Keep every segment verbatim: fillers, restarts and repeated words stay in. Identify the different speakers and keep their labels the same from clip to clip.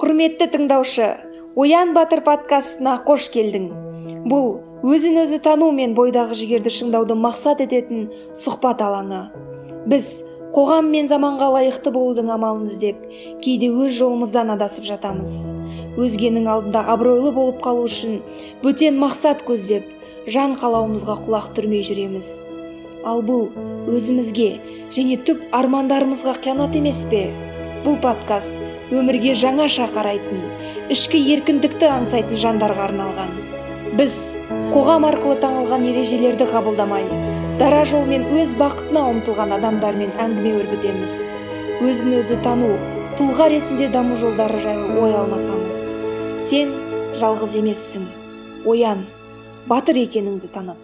Speaker 1: Құрметті тыңдаушы, Оян Батыр подкастына қош келдің. Бұл өзін өзі тану мен бойдағы жігерді шыңдауды мақсат ететін сұхбат алаңы. Біз қоғам мен заманға лайықты болудың амалын іздеп, кейде өз жолымыздан адасып жатамыз. Өзгенің алдында абыройлы болып қалу үшін бөтен мақсат көздеп, жан қалауымызға құлақ түрмей жүреміз. Ал бұл өзімізге және түп армандарымызға қиянат емес пе? Бұл подкаст өмірге жаңаша қарайтын, ішкі еркіндікті аңсайтын жандарға арналған. Біз қоғам арқылы таңылған ережелерді қабылдамай, дара жолмен өз бақытына ұмтылған адамдармен әңгіме өрбітеміз. Өзін өзі тану, тұлға ретінде даму жолдары жайлы ой алмасамыз. Сен жалғыз емессің. Оян, батыр екеніңді таныт.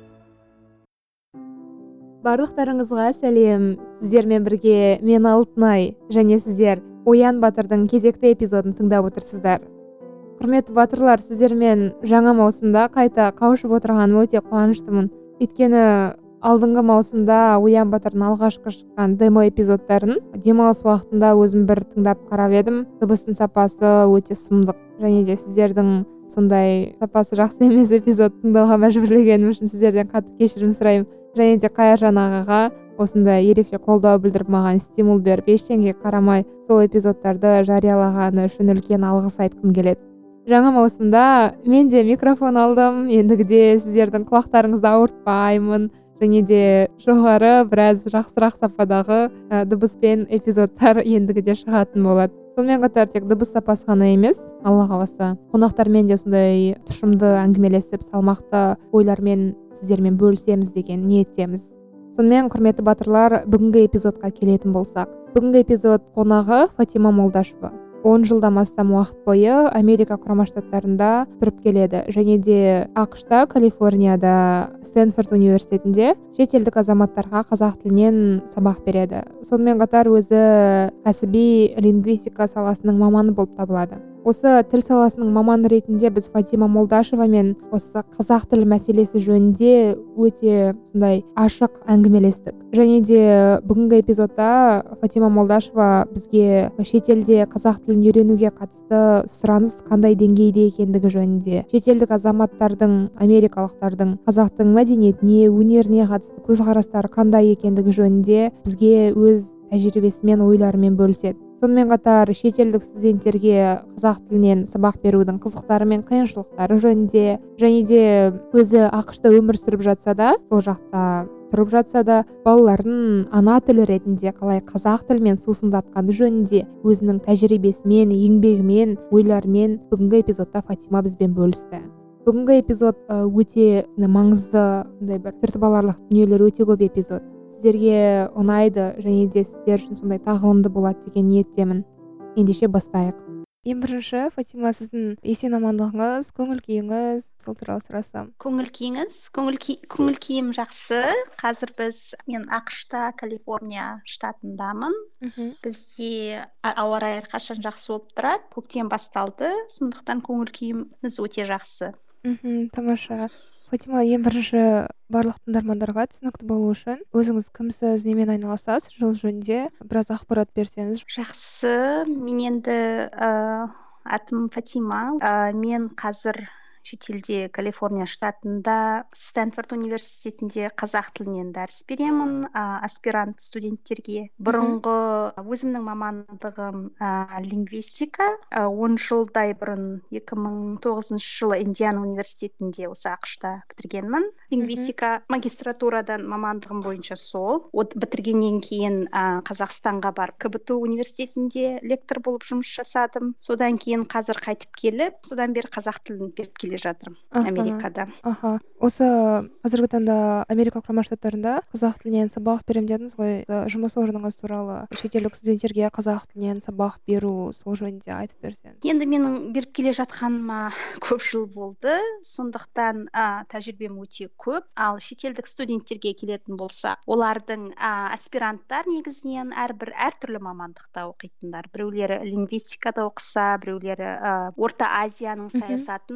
Speaker 2: Барлықтарыңызға сәлем. Сіздермен бірге мен Алтынай және сіздер Оян Батырдың кезекті эпизодын тыңдап отырсыздар. Құрметті батырлар, сіздермен жаңа маусымда қайта қауышып отырғаныма өте қуаныштымын. Өйткені алдыңғы маусымда Оян Батырдың алғашқы шыққан демо эпизодтарын демалыс уақытында өзім бір тыңдап қарап едім. Дыбыстың сапасы өте сұмдық, және де сіздердің сондай сапасы жақсы емес эпизод тыңдауға мәжбүрлегенім үшін сіздерден қатты кешірім сұраймын. Және де Қайыржан ағаға осындай ерекше қолдау білдіріп маған стимул беріп, ештеңеге қарамай сол эпизодтарды жариялағаны үшін үлкен алғыс айтқым келеді. Жаңа маусымда мен де микрофон алдым. Ендігіде сіздердің құлақтарыңызды ауыртпаймын, және де жоғары біраз жақсырақ сападағы ә, дыбыспен эпизодтар ендігіде шығатын болады. Сонымен қатар тек дыбыс сапасы ғана емес, Алла қаласа қонақтармен де сондай тұшымды әңгімелесіп, салмақты ойлармен сіздермен бөлісеміз деген ниеттеміз. Сонымен құрметті батырлар, бүгінгі эпизодқа келетін болсақ, бүгінгі эпизод қонағы Фатима Молдашева. он жылдан астам уақыт бойы Америка құрама штаттарында тұрып келеді, және де ақш-та, Калифорнияда, Стэнфорд университетінде шетелдік азаматтарға қазақ тілінен сабақ береді. Сонымен қатар өзі кәсіби лингвистика саласының маманы болып табылады. Осы тіл саласының маманы ретінде біз Фатима Молдашева мен осы қазақ тілі мәселесі жөнінде өте сондай ашық әңгімелестік. Және де бүгінгі эпизодта Фатима Молдашева бізге шетелде қазақ тілін үйренуге қатысты сұраныс қандай деңгейде екендігі жөнінде, шетелдік азаматтардың, америкалықтардың қазақтың мәдениетіне, өнеріне қатысты көзқарастары қандай екендігі жөнінде бізге өз тәжірибесімен, ойларымен бөліседі. Сонымен қатар шетелдік студенттерге қазақ тілінен сабақ берудің қызықтары мен қиыншылықтары жөнінде, және де өзі ақш-та өмір сүріп жатса да, сол жақта тұрып жатса да, балаларын ана тілі ретінде қалай қазақ тілімен сусындатқаны жөнінде өзінің тәжірибесімен, еңбегімен, ойларымен бүгінгі эпизодта Фатима бізбен бөлісті. Бүгінгі эпизод өте маңызды, сондай бір түртіп аларлық дүниелер өте көп эпизод. Сіздерге ұнайды, және де сіздер үшін сондай тағылымды болады деген ниеттемін. Ендеше бастайық. Ең бірінші, Фатима, сіздің есен амандығыңыз, көңіл күйіңіз, сол туралы сұрасам.
Speaker 3: Көңіл күйіңіз, көңіл күй- көңіл күйім жақсы. Қазір біз, мен ақш-та, Калифорния штатындамын.
Speaker 2: Мгм.
Speaker 3: Бізде а- ауа райы әрқашан жақсы болып тұрады. Көктем басталды, сондықтан көңіл күйіміз өте жақсы.
Speaker 2: Мгм, тамаша. Фатима, ең бірінші барлық тыңдармандарға түсінікті болу үшін өзіңіз кімсіз, немен айналысасыз, жыл жөнінде біраз ақпарат берсеңіз.
Speaker 3: Жақсы, мен енді ә, атым Фатима. Ә, мен қазір шетелде, Калифорния штатында, Стэнфорд университетінде қазақ тілінен дәріс беремін, ә, аспирант студенттерге. Бұрынғы өзімнің мамандығым ә, лингвистика. Ә, он жылдай бұрын екі мың тоғызыншы жылы Индиана университетінде осы ақш-та бітіргенмін. Лингвистика магистратурадан мамандығым бойынша сол. От бітіргеннен кейін ә, Қазақстанға барып ка бэ тэ университетінде лектор болып жұмыс жасадым. Содан кейін қазір қайтып келіп, содан бері қазақ тілін беріп келе жатырмын
Speaker 2: Аха.
Speaker 3: Америкада.
Speaker 2: Аха. Осы қазіргі таңда Америка құрама штаттарында қазақ тілінен сабақ беремін дедіңіз ғой. Ә, Жұмыс орныңыз туралы шетелдік студенттерге қазақ тілінен сабақ беру, сол жөнінде айтып берсеңіз.
Speaker 3: Енді менің беріп келе жатқаныма көп жыл болды, сондықтан ә, тәжірибем өте көп. Ал шетелдік студенттерге келетін болсақ, олардың ә, аспиранттар негізінен әрбір әртүрлі мамандықта оқитындар. Біреулері лингвистикада оқыса, біреулері ә, Орта Азияның саясатын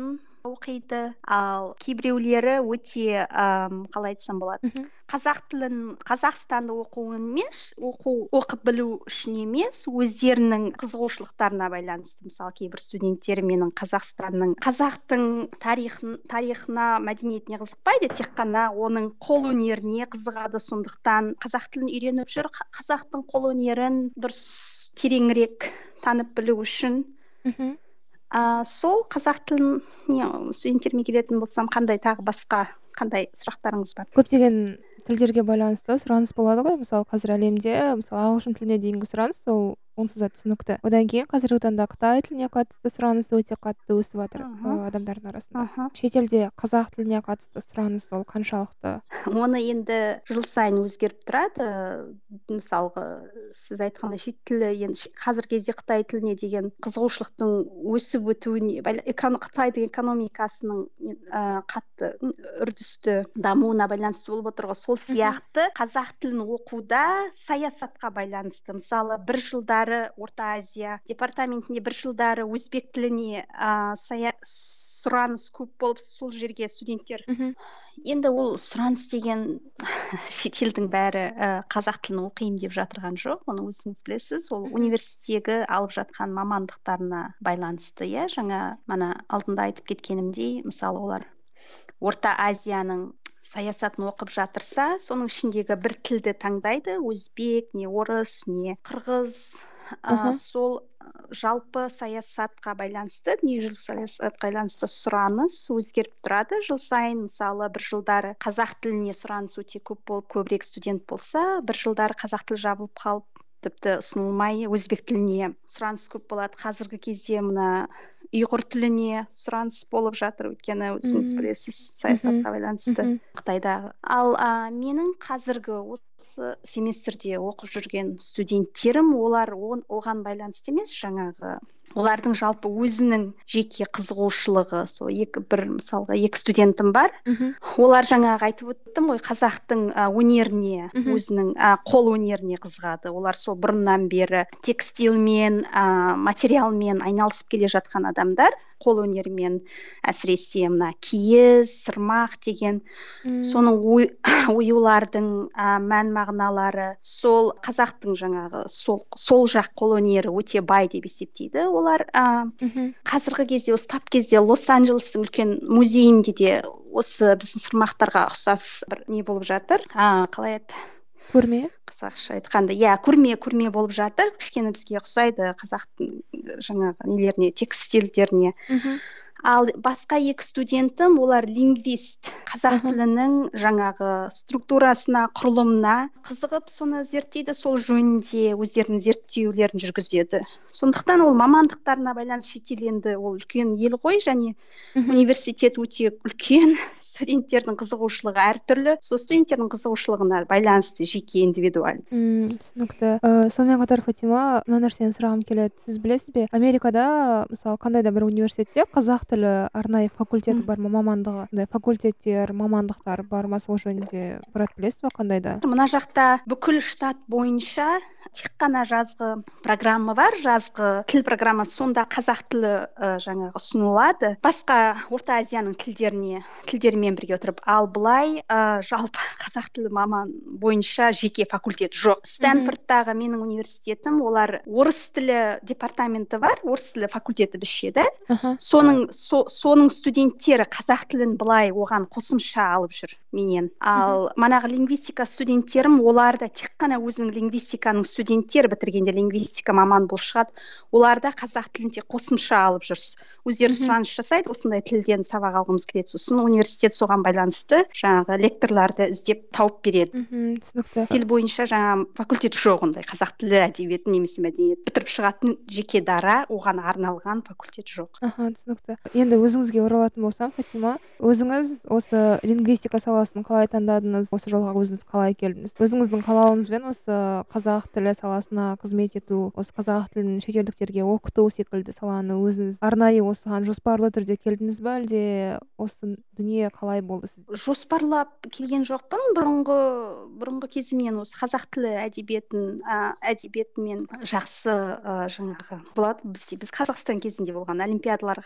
Speaker 3: оқиды, ал кейбіреулері өте ам, қалай айтсам болады,
Speaker 2: мхм
Speaker 3: қазақ тілін қазақстанды оқу емес, оқу оқып білу үшін емес, өздерінің қызығушылықтарына байланысты. Мысалы, кейбір студенттер менің Қазақстанның қазақтың тарихын тарихына, мәдениетіне қызықпайды, тек қана оның қол өнеріне қызығады. Сондықтан қазақ тілін үйреніп жүр, қа- қазақтың қол өнерін дұрыс тереңірек танып білу үшін.
Speaker 2: мхм
Speaker 3: А, сол қазақ тілін не студенттеріме келетін болсам, қандай тағы басқа қандай сұрақтарыңыз бар?
Speaker 2: көптеген тілдерге байланысты сұраныс болады ғой. Мысалы, қазір әлемде мысалы ағылшын тіліне дейінгі сұраныс ол онсыз да түсінікті. Одан кейін қазіргі таңда Қытай тіліне қатысты сұраныс өте қатты өсіп жатыр
Speaker 3: Мгм.
Speaker 2: ы, адамдардың арасында.
Speaker 3: Мгм.
Speaker 2: Шетелде қазақ тіліне қатысты сұраныс ол қаншалықты?
Speaker 3: Оны енді жыл сайын өзгеріп тұрады. Мысалғы, сіз айтқандай шет тілі, енді ше- қазіргі кезде Қытай тіліне деген қызығушылықтың өсіп өтуіне, байла- эконо- Қытайдың экономикасының ә, қатты м, үрдісті дамуына байланысты болып отыр ғой. Сол сияқты қазақ тілін оқуда саясатқа байланысты. Мысалы, бір жылдары Орта Азия департаментінде, бір жылдары өзбек тіліне ә, сая сұраныс көп болып, сол жерге студенттер.
Speaker 2: мхм
Speaker 3: Енді ол сұраныс деген шетелдің бәрі ә, қазақ тілін оқимын деп жатырған жоқ. Оны өзіңіз білесіз. Ол
Speaker 2: Мгм.
Speaker 3: университеттегі алып жатқан мамандықтарына байланысты. Иә, жаңа мана алдында айтып кеткенімдей, мысалы, олар Орта Азияның саясатын оқып жатырса, соның ішіндегі бір тілді таңдайды. Өзбек, не орыс, не қырғыз. А,
Speaker 2: Аха.
Speaker 3: сол а, жалпы саясатқа байланысты, дүниежүзілік саясатқа байланысты сұраныс өзгеріп тұрады жыл сайын. Мысалы, бір жылдары қазақ тіліне сұраныс өте көп болып, көбірек студент болса, бір жылдары қазақ тілі жабылып қалып, тіпті ұсынылмай өзбек тіліне сұраныс көп болады. Қазіргі кезде мына ұйғыр тіліне сұраныс болып жатыр, өйткені өзіңіз
Speaker 2: Мгм.
Speaker 3: білесіз, саясатқа байланысты
Speaker 2: Мхм.
Speaker 3: Қытайдағы. Ал а, менің қазіргі осы семестрде оқып жүрген студенттерім, олар он- оған байланысты емес, жаңағы олардың жалпы өзінің жеке қызығушылығы. Сол екі бір мысалға екі студентім бар.
Speaker 2: Мхм.
Speaker 3: Олар жаңағы айтып өттім ғой, қазақтың а, өнеріне,
Speaker 2: Мгм.
Speaker 3: өзінің а, қол өнеріне қызығады. Олар сол бұрыннан бері текстильмен, а, материалмен айналысып келе жатқан адамдар, қол өнерімен, әсіресе мына киіз, сырмақ деген
Speaker 2: М,
Speaker 3: соның ой- оюлардың а, мән мағыналары, сол қазақтың жаңағы сол сол жақ қолөнері өте бай деп есептейді олар. А,
Speaker 2: мхм.
Speaker 3: қазіргі кезде, осы тап кезде Лос-Анджелестің үлкен музейінде де осы біздің сырмақтарға ұқсас бір не болып жатыр. А, қалай еді
Speaker 2: Көрме?
Speaker 3: қазақша айтқанда, иә, көрме көрме болып жатыр. Кішкене бізге ұқсайды қазақтың жаңағы нелеріне, текстильдеріне.
Speaker 2: Мхм.
Speaker 3: Ал басқа екі студентім, олар лингвист. Қазақ
Speaker 2: Аха.
Speaker 3: тілінің жаңағы структурасына, құрылымына қызығып, соны зерттейді, сол жөнінде өздерінің зерттеулерін жүргізеді. Сондықтан ол мамандықтарына байланысты, шетел енді ол үлкен ел ғой, және
Speaker 2: Мхм.
Speaker 3: университет өте үлкен, студенттердің қызығушылығы әртүрлі. Сол студенттердің қызығушылығына байланысты, жеке индивидуаль.
Speaker 2: М, түсінікті. Ә, сонымен қатар, Фатима, мына нәрсені сұрағым келеді. Сіз білесіз бе, Америкада, мысалы, қандай да бір университетте қазақ тілі арнайы факультеті бар ма, мамандығы, андай факультеттер, мамандықтар бар ма, сол жөнінде біраз білесіз бе, қандай да?
Speaker 3: Мына жақта бүкіл штат бойынша тек қана жазғы программа бар, жазғы тіл программасы, сонда қазақ тілі ә, жаңағы ұсынылады. Басқа Орта Азияның тілдеріне тілдерімен бірге отырып, ал былай ә, жалпы қазақ тілі маман бойынша жеке факультет жоқ. Стэнфордтағы менің университетім, олар орыс тілі департаменті бар, орыс тілі факультеті бізше, да?
Speaker 2: Аха.
Speaker 3: Соның со, соның студенттері қазақ тілін былай оған қосымша алып жүр менен. Ал манағы лингвистика студенттерім, олар да тек қана өзінің лингвистиканың студенттері бітіргенде лингвистика маман болып шығады. Олар да қазақ тілін тек қосымша алып жүр. Өздері
Speaker 2: Мгм.
Speaker 3: сұраныс жасайды, осындай тілден сабақ алғымыз келеді. Сосын университет соған байланысты жаңағы лекторларды іздеп тауып береді.
Speaker 2: Мхм, түсінікті.
Speaker 3: Тіл бойынша жаңа факультет жоқ, ондай қазақ тілі әдебиеті немесе мәдениет бітіріп шығатын жеке дара, оған арналған факультет жоқ.
Speaker 2: Аха, түсінікті. Енді өзіңізге оралатын болсам, Фатима, өзіңіз осы лингвистика саласын қалай таңдадыңыз? Осы жолға өзіңіз қалай келдіңіз? Өзіңіздің қалауыңызбен осы қазақ тілі саласына қызмет ету, осы қазақ тілін шетелдіктерге оқыту секілді саланы өзіңіз арнайы осыған жоспарлы түрде келдіңіз бе, әлде осы дүние қалай болды сізде?
Speaker 3: Жоспарлап келген жоқпын. Бұрынғы бұрынғы кезімнен осы қазақ тілі әдебиетін ә, әдебиетімен жақсы ә, жаңағы болады. Біз, біз Қазақстан кезінде болған олимпиадаларға қатысамыз ғой.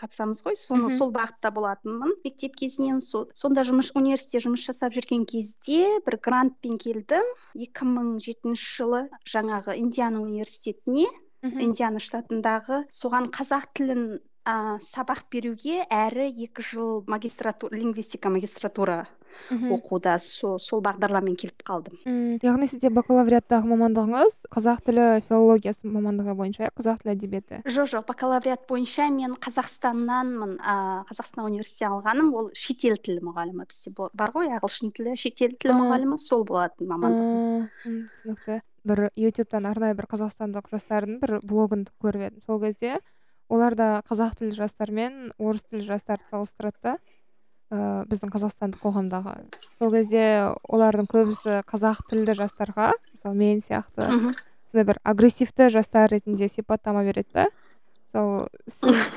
Speaker 3: ғой, соны
Speaker 2: Мгм.
Speaker 3: сол бағытта болатынмын мектеп кезінен. Со- сонда жұмыс университетте жұмыс жасап жүрген кезде бір грантпен келдім екі мың жетінші жылы жаңағы Индиана университетіне,
Speaker 2: Мгм.
Speaker 3: Индиана штатындағы. Соған қазақ тілін а, сабақ беруге әрі екі жыл магистратура, лингвистика магистратура
Speaker 2: Мгм.
Speaker 3: оқуда со, сол бағдарламамен келіп қалдым.
Speaker 2: М, яғни сізде бакалавриаттағы мамандығыңыз қазақ тілі филологиясы мамандығы бойынша, иә? Қазақ тілі әдебиеті.
Speaker 3: Жоқ жоқ бакалавриат бойынша мен Қазақстаннанмын. а, Қазақстан университетінен алғаным ол шетел тілі мұғалімі. Бізде бол- бар ғой ағылшын тілі, шетел тілі
Speaker 2: А.
Speaker 3: мұғалімі, сол болатын мамандығым.
Speaker 2: А, м, түсінікті. Бір ютубтан арнайы бір қазақстандық жастардың бір блогын көріп едім. Сол кезде олар да қазақ тілді жастар мен орыс тілді жастарды салыстырады да, ә, біздің қазақстандық қоғамдағы. Сол кезде олардың көбісі қазақ тілді жастарға, мысалы мен сияқты,
Speaker 3: Мгм.
Speaker 2: сондай бір агрессивті жастар ретінде сипаттама береді да. Сол сіз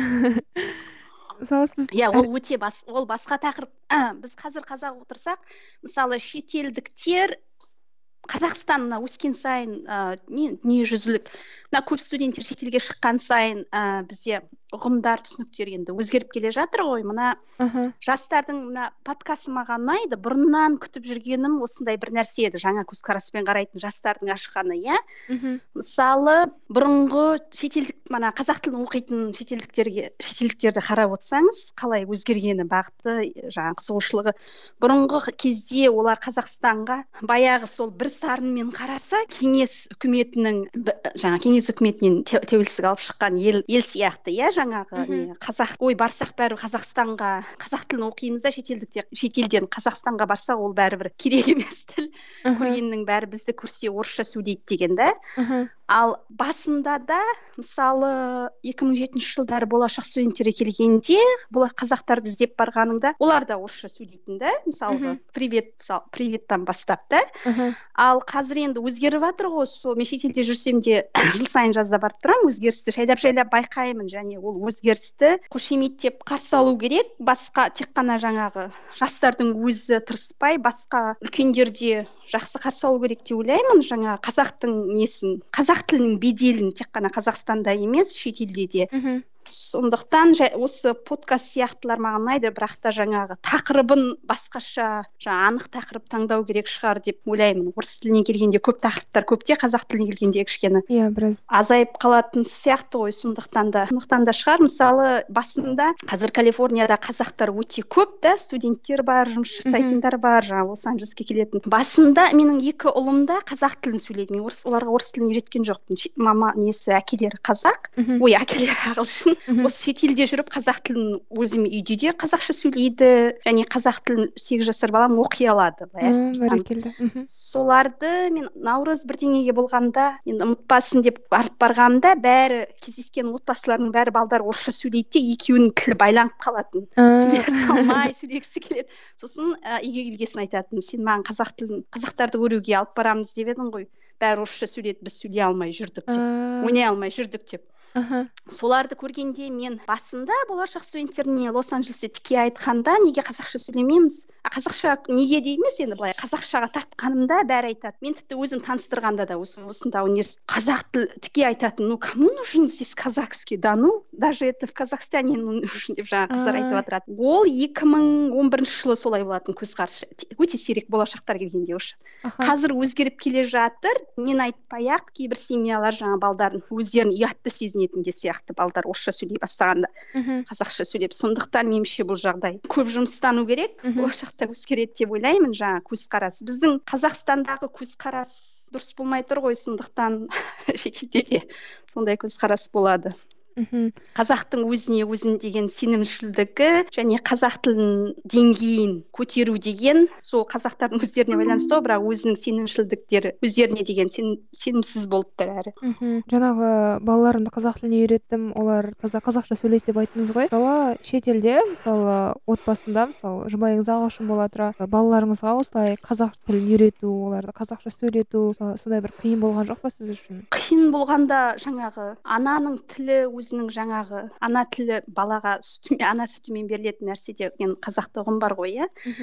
Speaker 2: мысалы сіз
Speaker 3: Иә,
Speaker 2: әр-
Speaker 3: ол өте бас, ол басқа тақырып. А, біз қазір қазақ отырсақ, мысалы шетелдіктер Қазақстан мына өскен сайын ә, не дүниежүзілік мына көп студенттер шетелге шыққан сайын ә, бізде ұғымдар, түсініктер енді өзгеріп келе жатыр ғой. Мына
Speaker 2: Аха.
Speaker 3: жастардың мына подкасты маған ұнайды. Бұрыннан күтіп жүргенім осындай бір нәрсе еді. Жаңа көзқараспен қарайтын жастардың ашқаны, иә.
Speaker 2: Мгм.
Speaker 3: Мысалы, бұрынғы шетелдік, мана қазақ тілін оқитын шетелдіктерге, шетелдіктерді қарап отырсаңыз, қалай өзгергені, бағыты, жаңа қызығушылығы. Бұрынғы кезде олар Қазақстанға баяғы сол бір сарынмен қараса, кеңес үкіметінің, б- жаңа кеңес үкіметінен те- тәуелсіздік алып шыққан ел, ел сияқты, иә, жаңағы
Speaker 2: Мгм.
Speaker 3: не қазақ, ой, барсақ бәрі Қазақстанға, қазақ тілін оқимыз да, шетелдіктер, шетелден Қазақстанға барса, ол бәрібір керек емес тіл.
Speaker 2: Аха.
Speaker 3: Көргеннің бәрі бізді көрсе орысша сөйлейді деген да.
Speaker 2: Аха.
Speaker 3: Ал басында да, мысалы, екі мың жетінші жылдары болашақ студенттері келгенде, бұл қазақтарды іздеп барғаныңда, олар да орысша сөйлейтін да, мысалғы,
Speaker 2: Мгм.
Speaker 3: привет, мысалы, приветтан бастап та.
Speaker 2: Аха.
Speaker 3: Ал қазір енді өзгеріп жатыр ғой, сол мен шетелде жүрсем де жыл сайын жазда барып тұрамын, өзгерісті жайлап жайлап байқаймын, және ол өзгерісті қошеметтеп қарсы алу керек. Басқа тек қана жаңағы жастардың өзі тырыспай, басқа үлкендер де жақсы қарсы алу керек деп ойлаймын. Жаңа қазақтың несін, қазақ тілінің беделін тек қана Қазақстанда емес, шетелде де.
Speaker 2: Мгм.
Speaker 3: Сондықтан жа- осы подкаст сияқтылар маған ұнайды, бірақ та жаңағы тақырыбын басқаша, жаңа анық тақырып таңдау керек шығар деп ойлаймын. Орыс тіліне келгенде көп тақырыптар көп те, қазақ тіліне келгенде кішкене
Speaker 2: Иә, біраз.
Speaker 3: азайып қалатын сияқты ғой. Сондықтан да сондықтан да шығар. Мысалы, басында қазір Калифорнияда қазақтар өте көп та, студенттер бар, жұмыс жасайтындар бар, жаңа Лос-Анджелеске келетін. Басында менің екі ұлым да қазақ тілін сөйледі. Мен орыс, оларға орыс тілін үйреткен жоқпын. Ше- Мама несі, әкелері қазақ,
Speaker 2: Мгм.
Speaker 3: ой, әкелері ағылшын.
Speaker 2: Мгм.
Speaker 3: Осы шетелде жүріп қазақ тілін өзім үйде де қазақша сөйлейді, және қазақ тілін сегіз жасар балам оқи алады. былай
Speaker 2: А,
Speaker 3: әріп танып.
Speaker 2: бәрекелді. Мгм.
Speaker 3: Соларды мен наурыз бірдеңеге болғанда, енді ұмытпасын деп барып барғанда, бәрі кездескен отбасылардың бәрі балдар орысша сөйлейді де, екеуінің тілі байланып қалатын.
Speaker 2: А.
Speaker 3: Сөйлей салмай, сөйлегісі келеді. Сосын ә, үйге келгесін айтатын, сен маған қазақ тілін, қазақтарды көруге алып барамыз деп едің ғой. Бәрі орысша сөйледі, біз сөйлей алмай жүрдік деп,
Speaker 2: А.
Speaker 3: ойнай алмай жүрдік деп.
Speaker 2: Аха.
Speaker 3: Соларды көргенде мен басында болашақ студенттеріне Лос-Анджелесте тіке айтқанда, неге қазақша сөйлемейміз? А қазақша неге де емес, енді былай қазақшаға тартқанымда бәрі айтады. Мен тіпті өзім таныстырғанда да осы осында университет қазақ тіл тіке айтатын, ну кому нужен здесь казахский, да ну даже это в Казахстане не нужен деп жаңа қыздар
Speaker 2: А.
Speaker 3: айтып отырады. Ол екі мың он бірінші жылы солай болатын көзқарас. Өте сирек болашақтар келгенде уже.
Speaker 2: Аха.
Speaker 3: Қазір өзгеріп келе жатыр. Мен айтпай-ақ кейбір семьялар жаңа балдарын өздерін ұятты сезінетін де сияқты, балдар орысша сөйлей бастағанда
Speaker 2: Мгм.
Speaker 3: қазақша сөйлеп. Сондықтан меніңше бұл жағдай көп жұмыстану керек.
Speaker 2: Мгм.
Speaker 3: Болашақта өзгереді деп ойлаймын. Жаңа көзқарас, біздің Қазақстандағы көзқарас дұрыс болмай тұр ғой, сондықтан шетелде де сондай көзқарас болады.
Speaker 2: Мгм.
Speaker 3: Қазақтың өзіне өзін деген сенімшілдігі және қазақ тілінің деңгейін көтеру деген сол қазақтардың өздеріне байланысты ғой, бірақ өзінің сенімшілдіктері өздеріне деген сенім, сенімсіз болып тұр әрі.
Speaker 2: Мгм. Жаңағы балаларымды қазақ тіліне үйреттім, олар таза қазақша сөйлейді деп айттыңыз ғой. Мысалы шетелде, мысалы отбасында, мысалы жұбайыңыз ағылшын бола тұра, балаларыңызға осылай қазақ тілін үйрету, оларды қазақша сөйлету, ы, сондай бір қиын болған жоқ па сіз үшін?
Speaker 3: Қиын болғанда жаңағы ананың тілі, өзінің жаңағы ана тілі балаға сүтімен, ана сүтімен берілетін нәрсе деген қазақта ұғым бар ғой, иә.
Speaker 2: Мгм.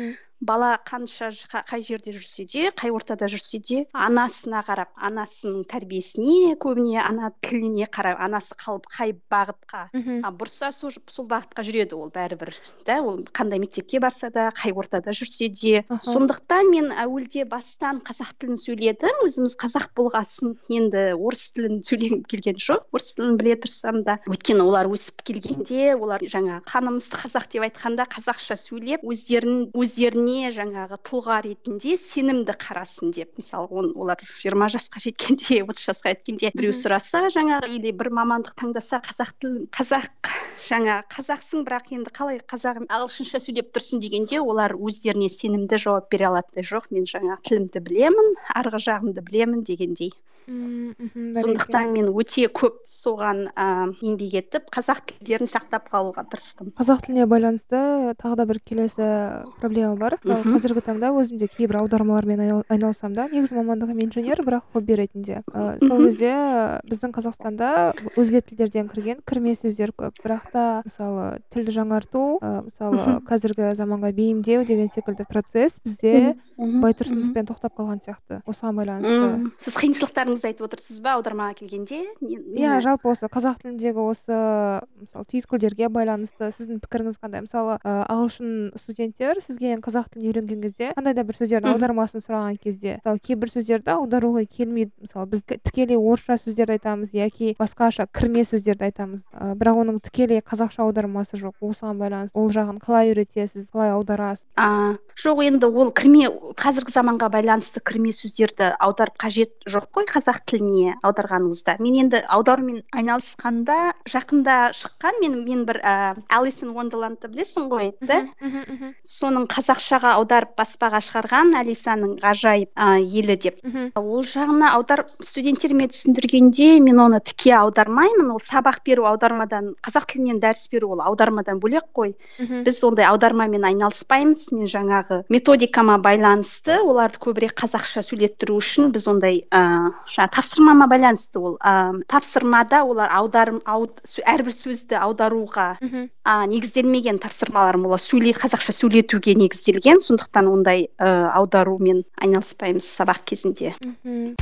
Speaker 3: бала қанша ж- қай жерде жүрсе де, қай ортада жүрсе де, анасына қарап, анасының тәрбиесіне, көбіне ана тіліне қарап, анасы қалып қай бағытқа
Speaker 2: мхм
Speaker 3: а, бұрса сол, сол бағытқа жүреді ол бәрібір. Да, ол қандай мектепке барса да, қай ортада жүрсе де.
Speaker 2: аха
Speaker 3: Сондықтан мен әуелде бастан қазақ тілін сөйледім. Өзіміз қазақ болғасын, енді орыс тілін сөйлегім келген жоқ. Орыс тілін біле тұрсам да. Өйткені олар өсіп келгенде, олар жаңа қанымыз қазақ деп айтқанда қазақша сөйлеп, өздерін өздеріне жаңағы тұлға ретінде сенімді қарасын деп. Мысалы, он, олар жиырма жасқа жеткенде, отыз жасқа жеткенде біреу
Speaker 2: мхм
Speaker 3: сұраса, жаңағы или бір мамандық таңдаса, қазақ тілін, қазақ жаңа қазақсың, бірақ енді қалай қазақ ағылшынша сөйлеп тұрсың дегенде, олар өздеріне сенімді жауап бере алатындай, жоқ, мен жаңа тілімді білемін, арғы жағымды білемін дегендей.
Speaker 2: м, мхм бәрекелді.
Speaker 3: Сондықтан мен өте көп соған а, еңбек етіп, қазақ тілдерін сақтап қалуға тырыстым.
Speaker 2: қазақ тіліне байланысты тағы да бір келесі проблема бар. Мысалы,
Speaker 3: Мгм.
Speaker 2: қазіргі таңда өзім де кейбір аудармалармен айнал- айналысам да, негізі мамандығым инженер, бірақ хобби ретінде. Ә, сол
Speaker 3: Мгм.
Speaker 2: кезде біздің Қазақстанда өзге тілдерден кірген кірме сөздер көп. Бірақ та мысалы тілді жаңарту, ә, мысалы
Speaker 3: Мгм.
Speaker 2: қазіргі заманға бейімдеу деген секілді процесс бізде
Speaker 3: Мгм. Мгм.
Speaker 2: байтұрсыновпен тоқтап қалған сияқты. Осыған байланысты.
Speaker 3: Мм. Сіз қиыншылықтарыңызды айтып отырсыз ба аудармаға келгенде? Не-
Speaker 2: Иә,
Speaker 3: Нені?
Speaker 2: жалпы осы қазақ тіліндегі осы мысалы түйіткілдерге байланысты сіздің пікіріңіз қандай? Мысалы, ә, ағылшын студенттер сізге қазақ тілін үйренген кезде, қандай да бір сөздердің
Speaker 3: Мгм.
Speaker 2: аудармасын сұраған кезде, мысалы кейбір сөздерді аударуға келмейді. Мысалы біз т- тікелей орысша сөздерді айтамыз яки басқаша кірме сөздерді айтамыз. Ә, бірақ оның тікелей қазақша аудармасы жоқ. Осыған байланысты ол жағын қалай үйретесіз, қалай аударасыз?
Speaker 3: А, жоқ, енді ол кірме, қазіргі заманға байланысты кірме сөздерді аударып қажет жоқ қой қазақ тіліне аударғаныңызда. Мен енді аударумен айналысқанда жақында шыққан, мен мен бір ә, Alice in Wonderland'ды білесің ғой, да?
Speaker 2: Мгм, мгм, мгм,
Speaker 3: Соның қазақшаға аударып баспаға шығарған Алисаның ғажайып ә, елі деп.
Speaker 2: мгм,
Speaker 3: Ол жағына аударып студенттеріме түсіндіргенде мен оны тіке аудармаймын. Ол сабақ беру аудармадан, қазақ тілінен дәріс беру ол аудармадан бөлек қой.
Speaker 2: мхм,
Speaker 3: Біз ондай аудармамен айналыспаймыз. Мен жаңағы методикама байланысты, оларды көбірек қазақша сөйлеттіру үшін біз ондай ә, жаңа тапсырмама байланысты ол. Ә, тапсырмада олар аударым ауд, сө- әрбір сөзді аударуға
Speaker 2: мхм.
Speaker 3: а, негізделмеген тапсырмаларым, олар сөйле қазақша сөйлетуге негізделген. Сондықтан ондай ә, аударумен айналыспаймыз сабақ кезінде.
Speaker 2: Мхм.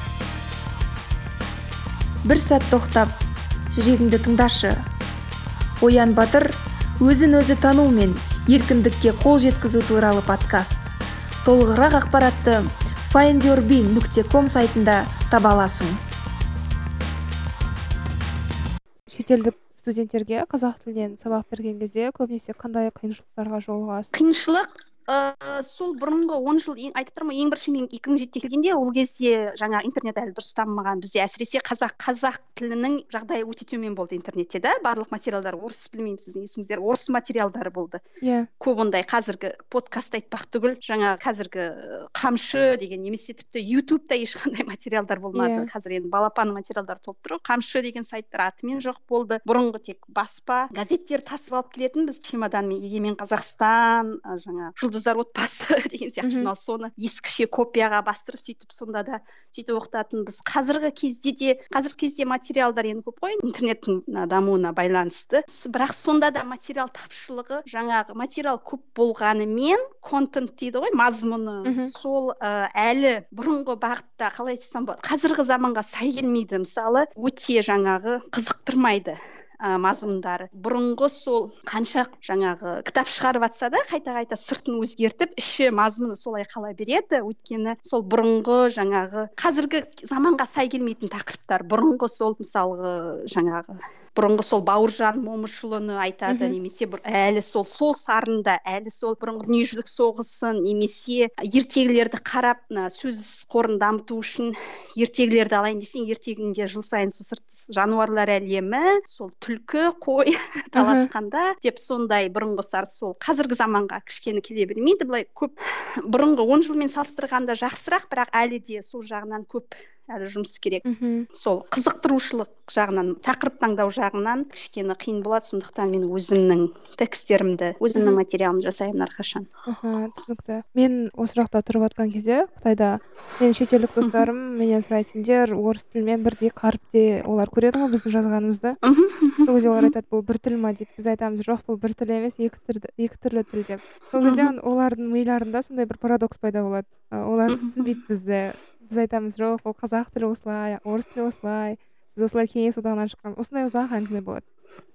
Speaker 1: бір сәт тоқтап жүрегіңді тыңдашы. Оян Батыр өзін өзі тану мен еркіндікке қол жеткізу туралы подкаст. Толығырақ ақпаратты find your bean нүкте ком сайтында таба аласың.
Speaker 2: Шетелдік студенттерге қазақ тілінен сабақ берген кезде көбінесе қандай қиыншылықтарға жолығасыз?
Speaker 3: Қиыншылық ә, сол бұрынғы он жыл ең- айтып тұрмын ғой, ең бірінші мен екі мың жетіде келгенде, ол кезде жаңа интернет әлі дұрыс дамымаған. Бізде әсіресе қазақ қазақ тілінің жағдайы өте төмен болды интернетте, да, барлық материалдар орыс, білмеймін сіздің есіңіздер, орыс материалдары болды.
Speaker 2: Иә.
Speaker 3: Көп ондай қазіргі подкаст айтпақ түгіл, жаңа қазіргі ә, қамшы деген, немесе тіпті ютубта ешқандай материалдар болмады.
Speaker 2: Иә.
Speaker 3: Қазір енді балапанның материалдары толып тұр ғой. Қамшы деген сайттар атымен жоқ болды. Бұрынғы тек баспа, газеттер тасып алып келетін біз чемоданмен, Егемен Қазақстан, ә, жаңа жұлдыздар отбасы деген сияқты
Speaker 2: Мгм.
Speaker 3: журнал, соны ескіше копияға бастырып сөйтіп сонда да сөйтіп оқытатынбыз. Қазіргі кезде де қазіргі кезде материалдар енді көп қой, интернеттің мына дамуына байланысты. С- бірақ сонда да материал тапшылығы, жаңағы материал көп болғанымен контент дейді ғой, мазмұны,
Speaker 2: Мгм.
Speaker 3: сол ә, әлі бұрынғы бағытта, қалай айтсам болады, қазіргі заманға сай келмейді. Мысалы, өте жаңағы қызықтырмайды ә, мазмұндары. Бұрынғы сол қанша жаңағы кітап шығарып жатса да қайта-қайта сыртын өзгертіп, іші мазмұны солай қала береді. Өйткені сол бұрынғы жаңағы қазіргі заманға сай келмейтін тақырыптар. Бұрынғы сол мысалғы жаңағы бұрынғы сол Бауыржан Момышұлыны айтады,
Speaker 2: Мгм.
Speaker 3: немесе бір әлі сол сол сарында, әлі сол бұрынғы дүниежүзілік соғысын, немесе ертегілерді қарап, мына сөз қорын дамыту үшін ертегілерді алайын десең, ертегінде жыл сайын сол сырт жануарлар әлемі, сол түлкі, қой таласқанда деп сондай бұрынғы сар сол қазіргі заманға кішкене келе бермейді. Былай көп бұрынғы он жылмен салыстырғанда жақсырақ, бірақ әлі де сол жағынан көп әлі жұмыс керек.
Speaker 2: мхм
Speaker 3: Сол қызықтырушылық жағынан, тақырып таңдау жағынан кішкене қиын болады, сондықтан мен өзімнің текстерімді, өзімнің
Speaker 2: мхм
Speaker 3: материалымды жасаймын әрқашан.
Speaker 2: аха, түсінікті. Мен осы жақта тұрып жатқан кезде Қытайда менің шетелдік достарым менен сұрайды, сендер орыс тілімен бірдей қаріпте, олар көреді ғой біздің жазғанымызды. Сол кезде олар айтады, бұл бір тіл ма дейді. Біз айтамыз, жоқ, бұл бір тіл емес, екі түрлі, екі түрлі тіл деп. Сол кезде олардың миларында сондай бір парадокс пайда болады. Ә, Олар түсінбейді бізді. Біз айтамыз, жоқ, бұл қазақ тілі осылай, орыс тілі осылай. Біз осылай кеңес одағынан шыққан. Осындай ұзақ әңгіме болады.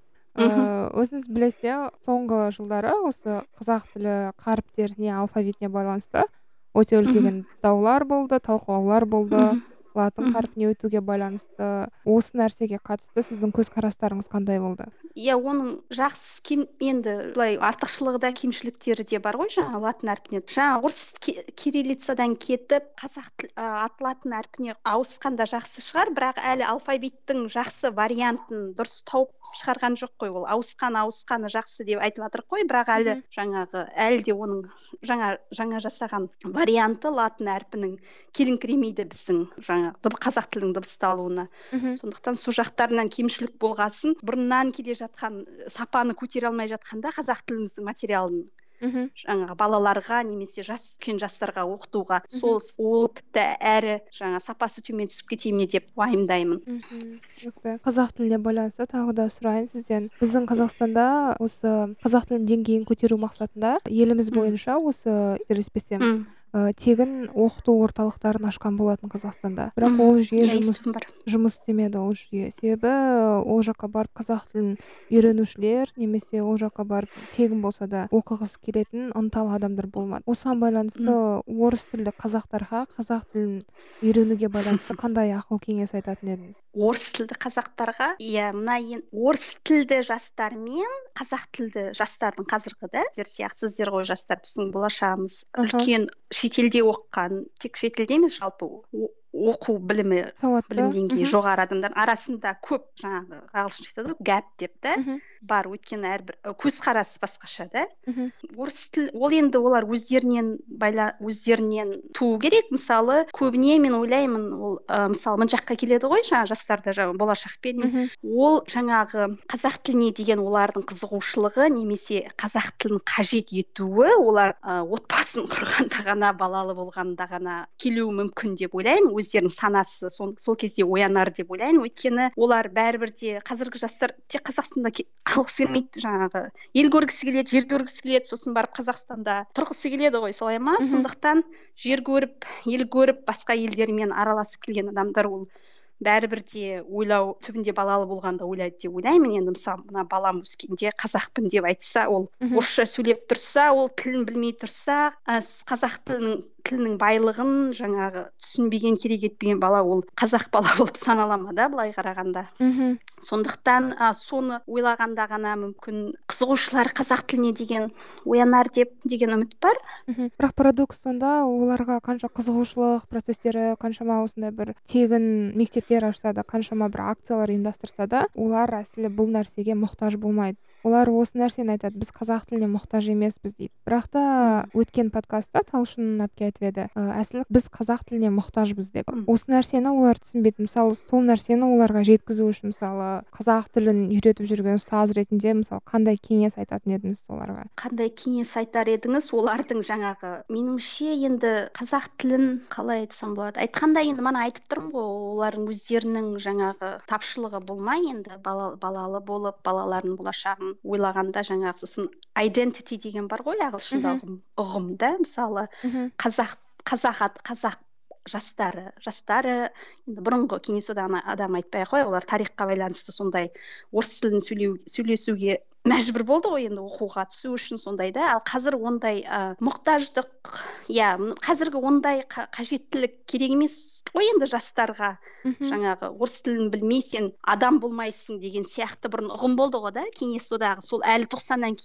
Speaker 2: Ә, өзіңіз білесіз, соңғы жылдары осы қазақ тілі қаріптеріне, алфавитіне байланысты өте үлкен даулар болды, талқылаулар болды. Латын қарпіне өтуге байланысты. Осы нәрсеге қатысты сіздің көзқарастарыңыз қандай болды?
Speaker 3: Иә, оның жақсы кем енді былай артықшылығы да кемшіліктері де бар ғой, жаңа латын әрпіне. Жаңа орыс ки- кириллицадан кетіп қазақ тіл- ә, ат латын әрпіне ауысқанда жақсы шығар, бірақ әлі алфавиттің жақсы вариантын дұрыс тауып шығарған жоқ қой. Ол ауысқан ауысқаны жақсы деп айтып жатыр ғой, бірақ әлі
Speaker 2: Мгм.
Speaker 3: жаңағы әлі де оның жаңа жаңа жасаған варианты латын әрпінің келіңкіремейді біздің жаңа дыб- қазақ тілінің дыбысталуына.
Speaker 2: Мгм.
Speaker 3: Сондықтан сол жақтарынан кемшілік болғасын, бұрыннан келе жатқан э, сапаны көтере алмай жатқанда қазақ тіліміздің материалын
Speaker 2: Мгм.
Speaker 3: жаңағы балаларға немесе жас үлкен жастарға оқытуға,
Speaker 2: Мгм.
Speaker 3: сол с- ол тіпті әрі жаңа сапасы төмен түсіп кете ме деп уайымдаймын.
Speaker 2: Мгм, түсінікті. Қазақ тіліне байланысты тағы да сұрайын сізден. Біздің Қазақстанда осы қазақ тілінің деңгейін көтеру мақсатында еліміз
Speaker 3: М.
Speaker 2: бойынша осы қателеспесем
Speaker 3: М.
Speaker 2: ә, тегін оқыту орталықтарын ашқан болатын Қазақстанда. Бірақ
Speaker 3: М.
Speaker 2: ол жүйе
Speaker 3: Иә,
Speaker 2: жұмыс
Speaker 3: естуім бар.
Speaker 2: жұмыс істемеді ол жүйе. Себебі ол жаққа барып қазақ тілін үйренушілер немесе ол жаққа барып тегін болса да оқығысы келетін ынталы адамдар болмады. Осыған байланысты
Speaker 3: М.
Speaker 2: орыс тілді қазақтарға қазақ тілін үйренуге байланысты қандай ақыл кеңес айтатын едіңіз?
Speaker 3: Орыс тілді қазақтарға, иә, мына ен орыс тілді жастар мен қазақ тілді жастардың қазіргі да сіздер сияқты, сіздер ғой жастар, біздің болашағымыз.
Speaker 2: Аха.
Speaker 3: Үлкен шетелде оқыған, тек шетелде емес, жалпы о- оқу білімі
Speaker 2: Сауатты.
Speaker 3: білім деңгейі
Speaker 2: Мгм.
Speaker 3: жоғары адамдар арасында көп жаңағы ағылшынша айтады ғой, гэп деп та
Speaker 2: Мгм.
Speaker 3: бар. Өйткені әрбір і көзқарас басқаша да.
Speaker 2: Мгм.
Speaker 3: Орыс тіл ол енді олар өздерінен байла өздерінен туу керек. Мысалы, көбіне мен ойлаймын, ол ы, мысалы мына жаққа келеді ғой, жаңа жастарда жаңа болашақпен,
Speaker 2: Мгм.
Speaker 3: ол жаңағы қазақ тіліне деген олардың қызығушылығы немесе қазақ тілін қажет етуі олар ы, отбасын құрғанда ғана, балалы болғанда ғана келуі мүмкін деп ойлаймын. Өздерінің санасы сол, сол кезде оянар деп ойлаймын. Өйткені олар бәрібір де қазіргі жастар тек Қазақстанда ке- қалғысы келмейді, жаңағы ел көргісі келеді, жер көргісі келеді, сосын барып Қазақстанда тұрғысы келеді ғой, солай ма?
Speaker 2: Мгм.
Speaker 3: Сондықтан жер көріп, ел көріп, басқа елдермен араласып келген адамдар ол бәрібір де ойлау түбінде балалы болғанда ойлайды деп ойлаймын. Енді мысалы мына балам өскенде қазақпын деп айтса, ол
Speaker 2: Мгм.
Speaker 3: орысша сөйлеп тұрса, ол тілін білмей тұрса, ә, с- қазақ тілінің тілінің байлығын жаңағы түсінбеген, керек етпеген бала ол қазақ бала болып санала ма да, былай қарағанда.
Speaker 2: Мгм.
Speaker 3: Сондықтан а, соны ойлағанда ғана мүмкін қызығушылар қазақ тіліне деген оянар деп деген үміт бар.
Speaker 2: Мгм. Бірақ парадокс сонда оларға қанша қызығушылық процестері, қаншама осындай бір тегін мектептер ашса да, қаншама бір акциялар ұйымдастырса да, олар әсілі бұл нәрсеге мұқтаж болмайды. Олар осы нәрсені айтады, біз қазақ тіліне мұқтаж емеспіз дейді. Бірақ та
Speaker 3: М.
Speaker 2: өткен подкастта Талшын әпке айтып еді, «Ә, әсілі біз қазақ тіліне мұқтажбыз» деп.
Speaker 3: М.
Speaker 2: Осы нәрсені олар түсінбейді. Мысалы, сол нәрсені оларға жеткізу үшін, мысалы, қазақ тілін үйретіп жүрген ұстаз ретінде, мысалы, қандай кеңес айтатын едіңіз оларға?
Speaker 3: Қандай кеңес айтар едіңіз? Олардың жаңағы меніңше енді қазақ тілін қалай айтсам болады? Айтқанда енді мана айтып тұрмын ғой, олардың өздерінің жаңағы тапшылығы болмай енді бала, балалы болып, балаларының болашағын ойлағанда жаңағы сосын identity деген бар ғой ағылшында
Speaker 2: Мгм.
Speaker 3: ұғым, ұғым да, мысалы
Speaker 2: Мгм.
Speaker 3: қазақ қазақ ат- қазақ жастары жастары енді бұрынғы кеңес одағына адам айтпай ақ қояйық, олар тарихқа байланысты сондай орыс тілін сөйлеу сөйлесуге мәжбүр болды ғой енді оқуға түсу үшін сондай да. Ал қазір ондай ә, мұқтаждық, иә, м- қазіргі ондай қа- қажеттілік керек емес қой енді жастарға.
Speaker 2: Мгм.
Speaker 3: Жаңағы орыс тілін білмей сен адам болмайсың деген сияқты бұрын ұғым болды ғой да, кеңес одағы. Сол әлі тоқсаннан кейін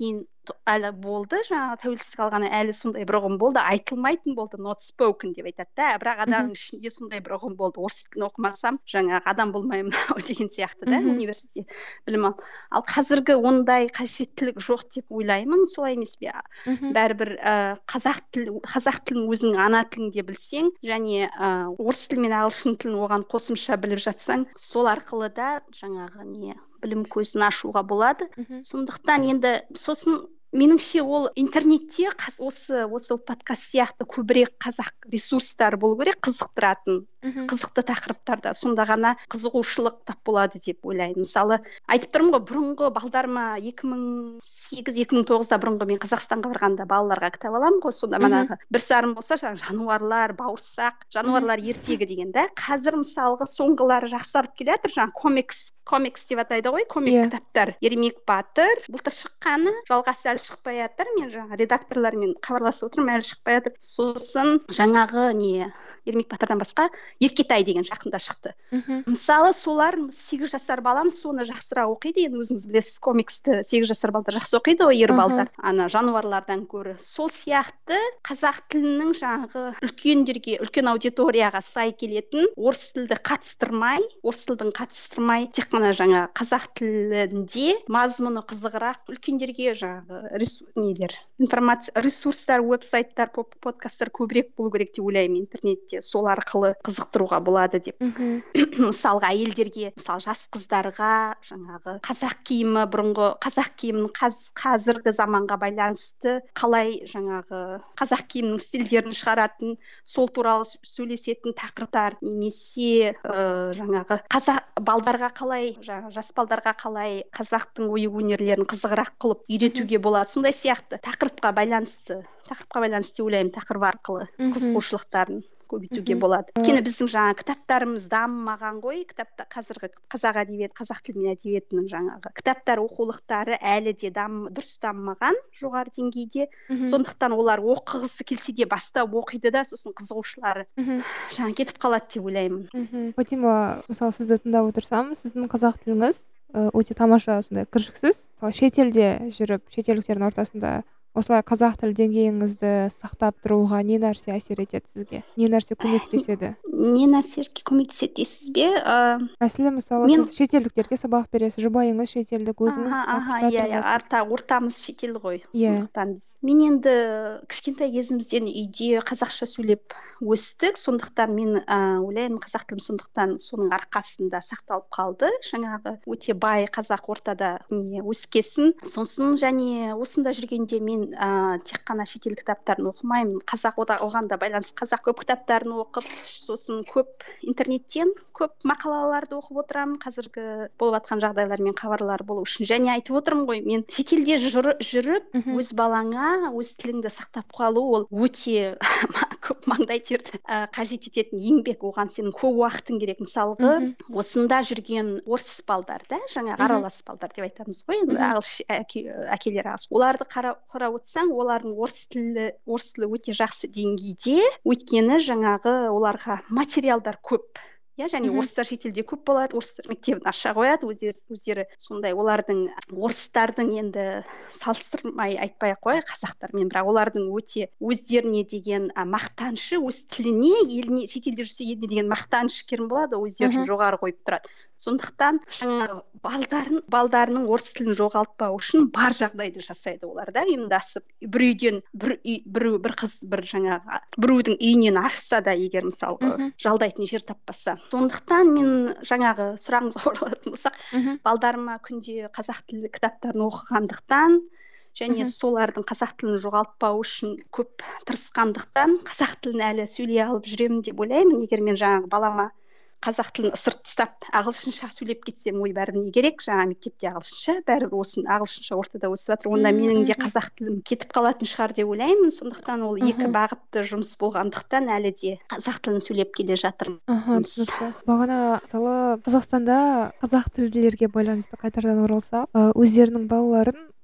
Speaker 3: әлі болды, жаңағы тәуелсіздік алғаннан әлі сондай бір ұғым болды, айтылмайтын болды, not spoken деп айтады да, бірақ адамның ішінде сондай бір ұғым болды, орыс тілін оқымасам жаңағы адам болмаймын ау деген сияқты да, университетте білім ал. Ал қазіргі ондай қажеттілік жоқ деп ойлаймын, солай емес пе? Бәрібір ә, қазақ тілі, қазақ тілін өзіңнің ана тілінде білсең, және ә, орыс тілі мен ағылшын тілін оған қосымша біліп жатсаң, сол арқылы да жаңағы не білім көзін ашуға болады. Сондықтан енді сосын меніңше ол интернетте қаз, осы осы подкаст сияқты көбірек қазақ ресурстары болу керек, қызықтыратын, қызықты тақырыптарда, сонда ғана қызығушылық тап болады деп ойлаймын. Мысалы, айтып тұрмын ғой, бұрынғы балдарыма екі мың сегіз екі мың тоғызда бұрынғы мен Қазақстанға барғанда балаларға кітап аламын ғой, сонда манағы бір сарын болса, жануарлар, бауырсақ, жануарлар ертегі деген да. Қазір мысалғы соңғылары жақсарып келе жатыр, жаңағы комикс, комикс деп атайды ғой, комик yeah. кітаптар. Ермек Батыр, былтыр шыққаны, жалғасы әлі шықпай жатыр. Мен жаңа редакторлармен хабарласып отырмын, әлі шықпай жатыр. Сосын жаңағы не Ермек Батырдан басқа Еркетай деген жақында шықты. Mm-hmm. Мысалы, солар сегіз жасар балам соны жақсырақ оқиды. Енді өзіңіз білесіз, комиксті сегіз жасар балдар жақсы оқиды ғой, ер балдар. Uh-huh. Ана жануарлардан гөрі. Сол сияқты қазақ тілінің жаңағы үлкендерге, үлкен аудиторияға сай келетін, орыс тілді қатыстырмай, орыс тілдің қатыстырмай, тек қана жаңа қазақ тілінде мазмұны қызығырақ үлкендерге жаңағы ресурс, нелер, информация, ресурстар, веб-сайттар, подкасттар көбірек болу керек деп ойлаймын интернетте. Сол арқылы қызықтыруға болады деп. Мысалға әйелдерге, мысалы жас қыздарға жаңағы қазақ киімі, бұрынғы қазақ киімінің қаз, қазіргі заманға байланысты қалай жаңағы қазақ киімінің стильдерін шығаратын, сол туралы сөйлесетін тақырыптар, немесе ә, жаңағы қазақ балдарға қалай, жаңағы жас балдарға қалай қазақтың ою-өнерлерін қызығырақ қылып үйретуге болады. Сондай сияқты тақырыпқа байланысты, тақырыпқа байланысты ойлаймын, тақырып арқылы қызығушылықтарын көбейтуге болады. Өйткені біздің жаңа кітаптарымыз дамымаған ғой, кітапта қазіргі қазақ әдебиет, қазақ тілі мен әдебиетінің жаңағы кітаптар оқулықтары әлі де дам, дұрыс дамымаған жоғары деңгейде. Сондықтан олар оқығысы келсе де бастап оқиды да, сосын қызығушылары жаңа кетіп қалады деп ойлаймын.
Speaker 2: Фатима, мысалы сізді тыңдап отырсам, сіздің қазақ тіліңіз өте тамаша, сондай кіршіксіз. Шетелде жүріп, шетелдіктердің ортасында осылай қазақ тіл деңгейіңізді сақтап тұруға не нәрсе әсер етеді сізге? Не нәрсе көмектеседі?
Speaker 3: Не нәрсе көмектеседі дейсіз бе?
Speaker 2: Мәселен, мысалы, мен... сіз шетелдіктерге сабақ бересіз, жұбайыңыз шетелдік, өзіңіз
Speaker 3: аха, иә, иә, арта ортамыз шетел ғой. Сондықтан біз. Мен енді кішкентай кезімізден үйде қазақша сөйлеп өстік, сондықтан мен ойлаймын, қазақ тілім сондықтан соның арқасында сақталып қалды. Жаңағы өте бай қазақ ортада не өскесін. Сосын және осында жүргенде мен Ә, тек қана шетел кітаптарын оқымаймын, қазақ оған да байланысты қазақ көп кітаптарын оқып, сосын көп интернеттен көп мақалаларды оқып отырамын, қазіргі болып жатқан жағдайлармен хабарлар болу үшін. Және айтып отырмын ғой, мен шетелде жүріп, жүріп өз балаңа өз тіліңді сақтап қалу ол өте көп маңдай терді ә, қажет ететін еңбек, оған сенің көп уақытың керек. Мысалғы, осында жүрген орыс балдар да, жаңа аралас балдар деп айтамыз ғой, ағылшын әке, әкелер ағылшын. Оларды қарап отырсаң, олардың орыс тілі, орыс тілі өте жақсы деңгейде, өйткені жаңағы оларға материалдар көп. Я, және орыстар шетелде көп болады, орыстар мектебін аша қояды, өздері, өздері сондай олардың орыстардың енді салыстырмай айтпай ақ қояйық қазақтармен, бірақ олардың өте өздеріне деген а, мақтанышы, өз тіліне, еліне, шетелде жүрсе еліне деген мақтанышы керім болады, өздерін жоғары қойып тұрады. Сондықтан жаңағы балдарын, балдарының орыс тілін жоғалтпау үшін бар жағдайды жасайды олар да, ұйымдасып. Бір үйден бір, үй, бір, бір қыз бір жаңағы біреудің үйінен ашса да, егер мысалғы жалдайтын жер таппаса. Сондықтан мен жаңағы сұрағыңызға оралатын болсақ, балдарыма күнде қазақ тілі кітаптарын оқығандықтан және солардың қазақ тілін жоғалтпау үшін көп тырысқандықтан қазақ тілін әлі сөйлей алып жүремін деп ойлаймын. Егер мен жаңағы балама қазақ тілін ысырып тастап ағылшынша сөйлеп кетсем, ой, бәрі не керек, жаңа мектепте ағылшынша, бәрібір осын ағылшынша ортада өсіп жатыр, онда менің де қазақ тілім кетіп қалатын шығар деп ойлаймын. Сондықтан ол екі бағытты жұмыс болғандықтан әлі де қазақ тілін сөйлеп келе жатырмыз.
Speaker 2: Бағана мысалы Қазақстанда қазақ тілділерге байланысты қайтардан оралсақ, өздерінің балаларын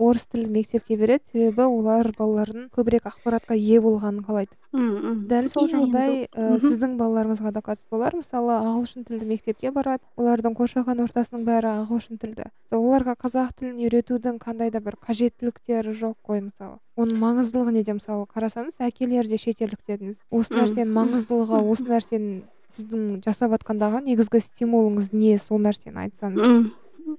Speaker 2: орыс тілді мектепке береді, себебі олар балалардың көбірек ақпаратқа ие болғанын қалайды.
Speaker 3: мм
Speaker 2: Дәл сол
Speaker 3: иә енді
Speaker 2: жағдай ә,
Speaker 3: мгм.
Speaker 2: сіздің балаларыңызға да қатысты болар. Мысалы, ағылшын тілді мектепке барады, олардың қоршаған ортасының бәрі ағылшын тілді. Оларға қазақ тілін үйретудің қандай да бір қажеттіліктері жоқ қой, мысалы. Оның маңыздылығы неде? Мысалы, қарасаңыз, әкелер де шетелдік дедіңіз. Осы
Speaker 3: Мм,
Speaker 2: нәрсенің
Speaker 3: мм,
Speaker 2: маңыздылығы,
Speaker 3: мм,
Speaker 2: осы нәрсенің сіздің жасап жатқандағы негізгі стимулыңыз не? Сол нәрсені айтсаңыз.
Speaker 3: мм.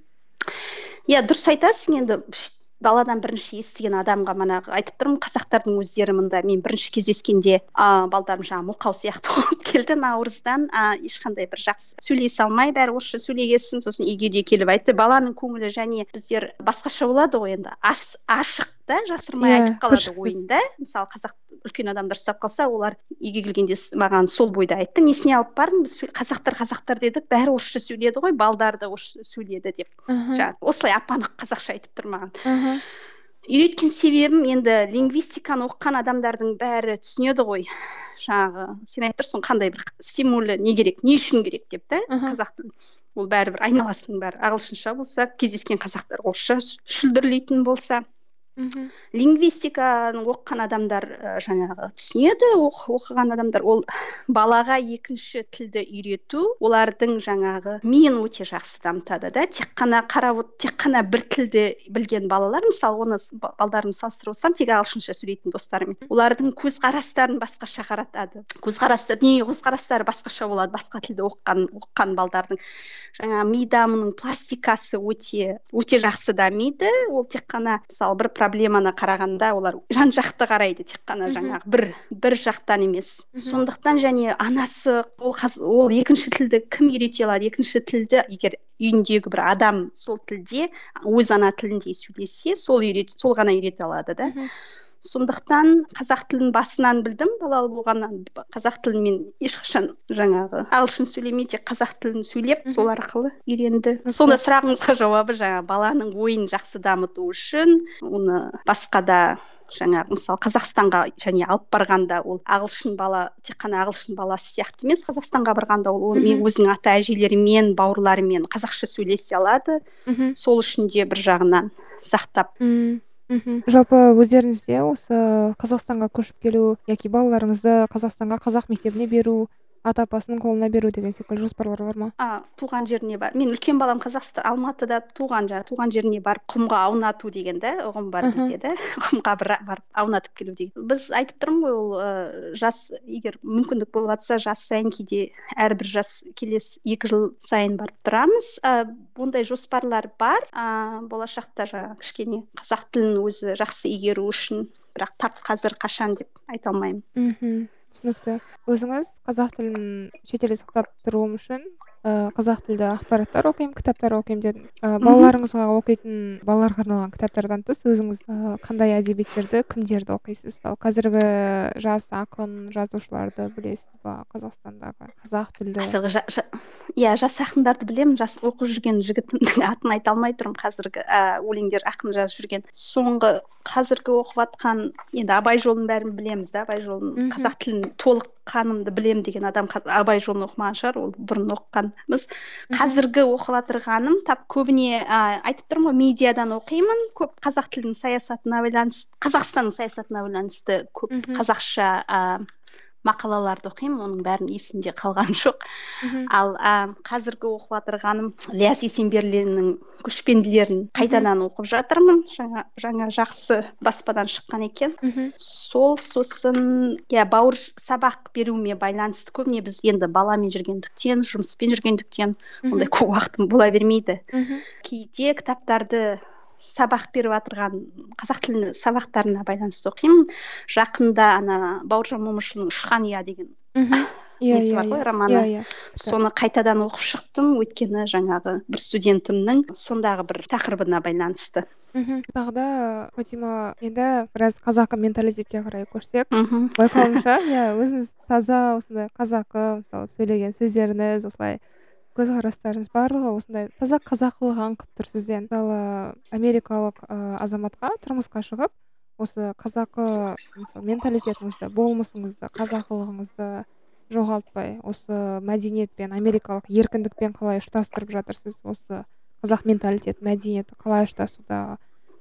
Speaker 3: иә дұрыс айтасың. енді ш- баладан бірінші естіген адамға манағы айтып тұрмын, қазақтардың өздері мында мен бірінші кездескенде а балдарым жаңағы мылқау сияқты болып келді наурыздан, а ешқандай бір жақсы сөйлесе алмай бәрі орысша сөйлегесін. Сосын үйге де келіп айтты. Баланың көңілі және біздер басқаша болады ғой, енді ас ашық да, жасырмай
Speaker 2: Иә,
Speaker 3: айтып қалады
Speaker 2: кіршіксіз.
Speaker 3: ойында. Мысалы қазақ үлкен адамдар ұстап қалса, олар үйге келгенде с- маған сол бойда айтты, несіне алып бардың, біз сөйл- қазақтар қазақтар дедік, бәрі орысша сөйледі ғой, балдар да орысша сөйледі деп.
Speaker 2: Аха,
Speaker 3: жаңағы осылай ап-анық қазақша айтып тұр маған.
Speaker 2: аха,
Speaker 3: Үйреткен себебім, енді лингвистиканы оқыған адамдардың бәрі түсінеді ғой. Жаңағы сен айтып тұрсың, қандай бір стимулі не керек, не үшін керек деп та,
Speaker 2: аха.
Speaker 3: қазақ тілін. Ол бәрібір айналасының бәрі ағылшынша болса, кездескен қазақтар орысша ш- шүлдірлейтін болса,
Speaker 2: Мгм.
Speaker 3: лингвистиканы оқыған адамдар ә, жаңағы түсінеді. Оқ- оқыған адамдар, ол балаға екінші тілді үйрету олардың жаңағы миын өте жақсы дамытады да. Тек қана қарап от- тек қана бір тілді білген балалар, мысалы оны с- ба- балдарымды салыстырып отырсам, тек ағылшынша сөйлейтін достарымен, олардың көзқарастарын басқаша қаратады. Көзқарастар дүние көзқарастары басқаша болады, басқа тілді оқыған оқыған балдардың. Жаңа ми дамуының пластикасы өте өте жақсы дамиды. Ол тек қана мысалы бір проблеманы қарағанда олар жан жақты қарайды, тек қана
Speaker 2: Мгм.
Speaker 3: жаңағы бір бір жақтан емес.
Speaker 2: Мгм.
Speaker 3: Сондықтан және анасы ол қаз- ол екінші тілді кім үйрете алады? Екінші тілді егер үйіндегі бір адам сол тілде өз ана тілінде сөйлесе, сол үйрет сол ғана үйрете алады да.
Speaker 2: Мгм.
Speaker 3: Сондықтан қазақ тілін басынан білдім, балалы болғаннан. Б- қазақ тілін мен ешқашан жаңағы ағылшын сөйлемей, тек қазақ тілін сөйлеп, сол
Speaker 2: Мгм.
Speaker 3: арқылы үйренді.
Speaker 2: Түсінікті.
Speaker 3: Сонда сұрағыңызға жауабы, жаңағы баланың ойын жақсы дамыту үшін оны басқа да жаңағы мысалы Қазақстанға және алып барғанда, ол ағылшын бала тек қана ағылшын баласы сияқты емес, Қазақстанға барғанда ол ол мен
Speaker 2: Мгм.
Speaker 3: өзінің ата әжелерімен, бауырларымен қазақша сөйлесе алады.
Speaker 2: Мгм.
Speaker 3: Сол үшін де бір жағынан сақтап.
Speaker 2: М, мгм. Жалпы өздеріңізде осы Қазақстанға көшіп келу яки балаларыңызды Қазақстанға қазақ мектебіне беру, ата апасының қолына беру деген секілді жоспарлар бар ма?
Speaker 3: А, туған жеріне бар. Мен үлкен балам Қазақстан Алматыда туған, жаңағы туған жеріне барып құмға аунату деген да ұғым бар
Speaker 2: Аха.
Speaker 3: бізде да. Құмға бір барып аунатып келу деген. Біз айтып тұрмын ғой, ол ы, жас егер мүмкіндік болып жатса, жас сайын кейде әрбір жас келесі екі жыл сайын барып тұрамыз. А, ондай жоспарлар бар. А, болашақта жаңағы кішкене қазақ тілін өзі жақсы игеру үшін, бірақ тап қазір қашан деп айта алмаймын.
Speaker 2: Мхм. Түсінікті. Өзіңіз қазақ тілін шетелде сақтап тұруым үшін ә, қазақ тілді ақпараттар оқимын, кітаптар оқимын дедіңіз. Ә,
Speaker 3: Мгм.
Speaker 2: балаларыңызға оқитын, балаларға арналған кітаптардан тыс өзіңіз ә, қандай әдебиеттерді, кімдерді оқисыз? Ал қазіргі жас ақын, жазушыларды білесіз ба Қазақстандағы қазақ тілді?
Speaker 3: Қазіргі жа- жа- иә жас ақындарды білемін. Жас оқып жүрген жігіттің атын айта алмай тұрмын. Қазіргі ә, өлеңдер ақын жазып жүрген. Соңғы қазіргі оқып жатқан, енді Абай жолын бәрін білеміз да. Абай жолын
Speaker 2: Мгм.
Speaker 3: қазақ тілін толық қанымды білем деген адам қаз- Абай жолын оқымаған шығар, ол бұрын оқығанбыз.
Speaker 2: Мгм.
Speaker 3: Қазіргі оқып жатырғаным тап көбіне ә, айтып тұрмын ғой, медиадан оқимын. Көп қазақ тілінің саясатына байланысты, Қазақстанның саясатына байланысты көп
Speaker 2: Мгм.
Speaker 3: қазақша ә, мақалаларды оқимын. Оның бәрін есімде қалған жоқ.
Speaker 2: Мгм.
Speaker 3: Ал ә, қазіргі оқып жатырғаным Ілияс Есенберлиннің көшпенділерін қайтадан оқып жатырмын. Жаңа жаңа жақсы баспадан шыққан екен.
Speaker 2: Мгм.
Speaker 3: Сол сосын иә бауыр ж- сабақ беруіме байланысты, көбіне біз енді баламен жүргендіктен, жұмыспен жүргендіктен ондай
Speaker 2: Мгм.
Speaker 3: көп уақытым бола бермейді.
Speaker 2: Мгм.
Speaker 3: Кейде кітаптарды сабақ беріп жатырған қазақ тілі сабақтарына байланысты оқимын. Жақында ана Бауыржан Момышұлының Ұшқан ұя деген
Speaker 2: Мгм. Иә,
Speaker 3: несі
Speaker 2: иә,
Speaker 3: бар ғой,
Speaker 2: иә.
Speaker 3: романы.
Speaker 2: Иә, иә.
Speaker 3: Соны қайтадан оқып шықтым, өйткені жаңағы бір студентімнің сондағы бір тақырыбына байланысты.
Speaker 2: Мгм. Тағы да Фатима, енді біраз қазақы менталитетке қарай көшсек,
Speaker 3: Мгм.
Speaker 2: байқауымша, иә, өзіңіз таза осындай қазақы, мысалы сөйлеген сөздеріңіз, осылай көзқарастарыңыз барлығы осындай таза қазақылық аңқып тұр сізден. Мысалы, америкалық ә, азаматқа тұрмысқа шығып, осы қазақы мысалы менталитетіңізді, болмысыңызды, қазақылығыңызды жоғалтпай, осы мәдениетпен, америкалық еркіндікпен қалай ұштастырып жатырсыз? Осы қазақ менталитет, мәдениеті қалай ұштасуда?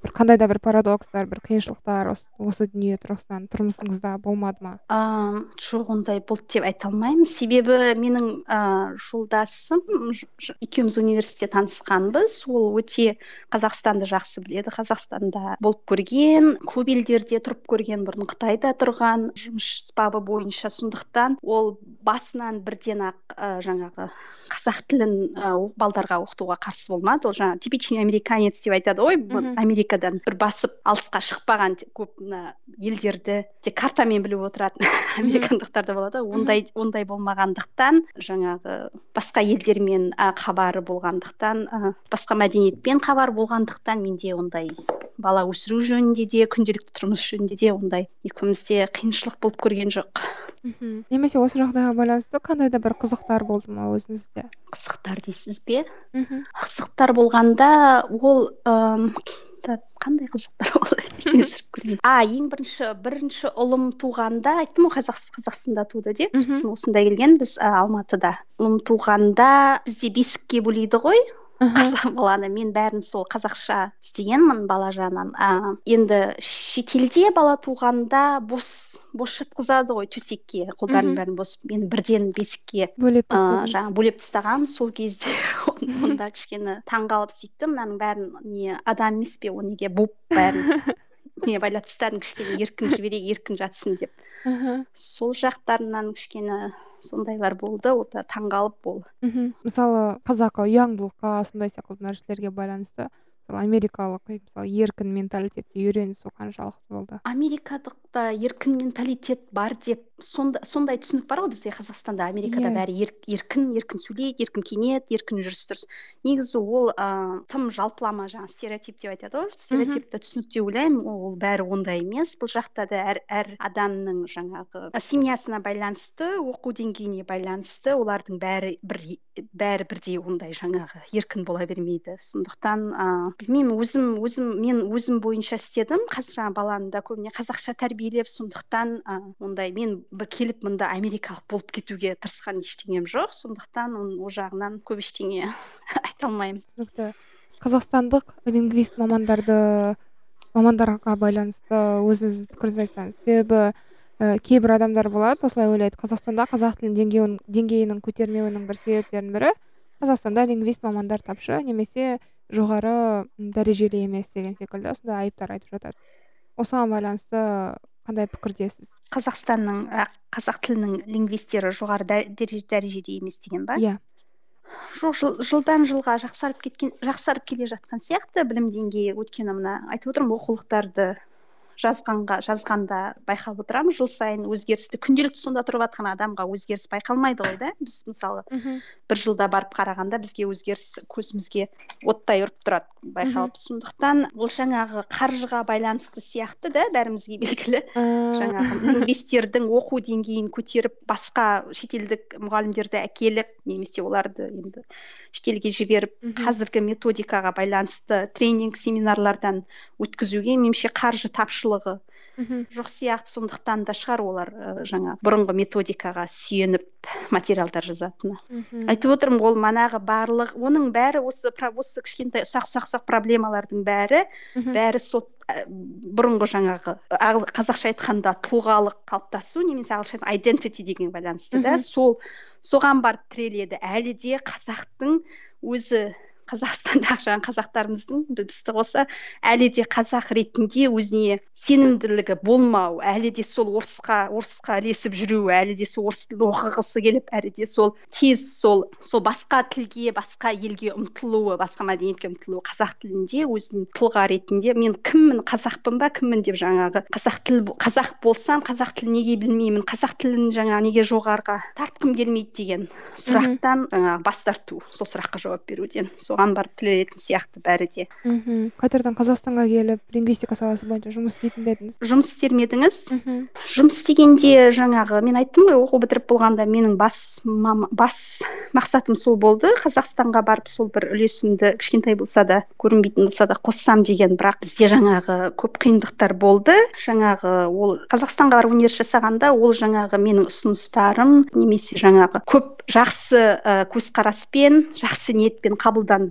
Speaker 2: бір қандай да бір парадокстар, бір қиыншылықтар осы, осы дүние тұрғысынан тұрмысыңызда болмады ма?
Speaker 3: Ам, жоқ, ондай болды деп айта алмаймын. Себебі менің ә, жолдасым ж- ж- екеуміз университетте танысқанбыз. Ол өте Қазақстанды жақсы біледі. Қазақстанда болып көрген, көп елдерде тұрып көрген, бұрын Қытайда тұрған, жұмыс бабы бойынша. Сондықтан ол басынан бірден ақ ә, жаңағы қазақ тілін ә, о- балдарға оқытуға қарсы болмады. Ол жаңағы типичный американец деп айтады ғой, бұл
Speaker 2: Мгм.
Speaker 3: Америкадан бір басып алысқа шықпаған те- көп мына елдерді тек картамен біліп отыратын американдықтар да болады ғой. ондай ондай болмағандықтан, жаңағы басқа елдермен а, хабары болғандықтан, а, басқа мәдениетпен хабар болғандықтан, менде ондай бала өсіру жөнінде де, күнделікті тұрмыс жөнінде де ондай екеумізде қиыншылық болып көрген жоқ.
Speaker 2: Мгм. Немесе осы жағдайға байланысты қандай да бір қызықтар болды ма өзіңізде?
Speaker 3: Қызықтар дейсіз бе?
Speaker 2: Мхм.
Speaker 3: Қызықтар болғанда ол ым, та- қандай қызықтар болды есіме түсіріп көрейін. А, ең бірінші бірінші ұлым туғанда айттым ғой, қазақ Қазақстанда туды деп.
Speaker 2: Мгм.
Speaker 3: Сосын осында келген біз а, Алматыда. Ұлым туғанда бізде бесікке бөлейді ғой.
Speaker 2: Аха.
Speaker 3: Қазақ баланы, мен бәрін сол қазақша істегенмін бала жағынан. А, енді шетелде бала туғанда бос бос жатқызады ғой төсекке, қолдарын
Speaker 2: Мгм.
Speaker 3: бәрін бос. Мен бірден бесікке
Speaker 2: Бөлеп
Speaker 3: ә,
Speaker 2: тастадыңыз.
Speaker 3: жаңағы бөлеп тастағанмын сол кезде. Он- онда кішкене таңғалып сөйттім, мынаның бәрін не адам емес пе, оны неге буып бәрін не байлап тастадың, кішкене еркін жіберейік, еркін жатсын деп.
Speaker 2: Аха.
Speaker 3: Сол жақтарынан кішкене сондайлар болды, ол да таңғалып болды.
Speaker 2: Мхм. Мысалы қазақы ұяңдылыққа сондай секілді нәрселерге байланысты мысалы америкалық мысалы еркін менталитетке үйренісу қаншалықты болды?
Speaker 3: Америкадықта еркін менталитет бар деп сонда, сондай түсінік бар ғой бізде Қазақстанда. Америкада
Speaker 2: Иә.
Speaker 3: бәрі ер- еркін еркін сөйлейді, еркін киінеді, еркін жүріс тұрыс. Негізі ол ә, тым жалпылама, жаңағы стереотип деп айтады ғой, стереотипті түсінік деп ойлаймын. ол бәрі ондай емес. Бұл жақта да әр, әр адамның жаңағы ә, семьясына байланысты, оқу деңгейіне байланысты олардың бәрі бір бәрі бірдей ондай жаңағы еркін бола бермейді. Сондықтан ә, білмеймін, өзім өзім мен өзім бойынша істедім. Қазір жаңағы баланы да көбіне қазақша тәрбиелеп, сондықтан ә, ондай мен бір келіп мында америкалық болып кетуге тырысқан ештеңем жоқ. Сондықтан он- ол жағынан көп ештеңе айта алмаймын.
Speaker 2: Түсінікті. Қазақстандық лингвист мамандарды мамандарға байланысты өзіңіз пікіріңізді айтсаңыз. Себебі ә, кейбір адамдар болады, осылай ойлайды, Қазақстанда қазақ тілінің деңгейін, деңгейінің көтермеуінің бір себептерінің бірі Қазақстанда лингвист мамандар тапшы немесе жоғары м, дәрежелі емес деген секілді осындай айыптар айтып жатады. Осыған байланысты қандай пікірдесіз?
Speaker 3: Қазақстанның ә, қазақ тілінің лингвистері жоғары дә- дәреже- дәрежеде емес деген ба?
Speaker 2: Иә.
Speaker 3: Жоқ, жыл, жылдан жылға жақсарып кеткен жақсарып келе жатқан сияқты білім деңгейі. Өйткені мына айтып отырмын, оқулықтарды жазғанға жазғанда байқап отырамын, жыл сайын өзгерісті. Күнделікті сонда тұрып жатқан адамға өзгеріс байқалмайды ғой да. Біз мысалы
Speaker 2: Мхм.
Speaker 3: бір жылда барып қарағанда бізге өзгеріс көзімізге оттай ұрып тұрады байқалып. Сондықтан ол жаңағы қаржыға байланысты сияқты да, бәрімізге белгілі.
Speaker 2: Ә,
Speaker 3: Жаңағы лингвистердің оқу деңгейін көтеріп, басқа шетелдік мұғалімдерді әкеліп, немесе оларды енді шетелге жіберіп,
Speaker 2: Мгм.
Speaker 3: қазіргі методикаға байланысты тренинг семинарлардан өткізуге меніңше қаржы тапшылығы
Speaker 2: мхм.
Speaker 3: жоқ сияқты. Сондықтан да шығар олар ә, жаңа бұрынғы методикаға сүйеніп материалдар жазатыны.
Speaker 2: Мхм.
Speaker 3: Айтып отырмын, ол манағы барлық, оның бәрі осы пра- осы кішкентай ұсақ ұсақ ұсақ проблемалардың бәрі
Speaker 2: Мхм.
Speaker 3: бәрі сол ә, бұрынғы жаңағы ағыл- қазақша айтқанда тұлғалық қалыптасу, немесе ағылшын identity деген байланысты да,
Speaker 2: Мгм.
Speaker 3: сол соған барып тіреледі. Әлі де қазақтың өзі, Қазақстандағы жаңағы қазақтарымыздың бізді қоса әлі де қазақ ретінде өзіне сенімділігі болмау, әлі де сол орысқа орысқа ілесіп жүру, әлі де сол орыс тілін оқығысы келіп, әлі де сол тез сол сол басқа тілге, басқа елге ұмтылуы, басқа мәдениетке ұмтылуы, қазақ тілінде өзін тұлға ретінде мен кіммін, қазақпын ба, кіммін деп жаңағы қазақ тіл қазақ болсам, қазақ тілін неге білмеймін, қазақ тілін жаңағы неге жоғарыға тартқым келмейді деген сұрақтан жаңағы бас тарту, сол сұраққа жауап беруден. Соған барып тірелетін сияқты бәрі де.
Speaker 2: Мхм. Қайтардан Қазақстанға келіп лингвистика саласы бойынша жұмыс істейтін бе едіңіз?
Speaker 3: Жұмыс істер ме едіңіз?
Speaker 2: Мхм.
Speaker 3: Жұмыс істегенде жаңағы мен айттым ғой, оқу бітіріп болғанда менің бас мама, бас мақсатым сол болды. Қазақстанға барып сол бір үлесімді кішкентай болса да, көрінбейтін болса да қоссам деген. Бірақ бізде жаңағы көп қиындықтар болды. Жаңағы ол Қазақстанға барып университет жасағанда ол жаңағы менің ұсыныстарым немесе жаңағы көп жақсы ә, көзқараспен, жақсы ниетпен қабылданбады.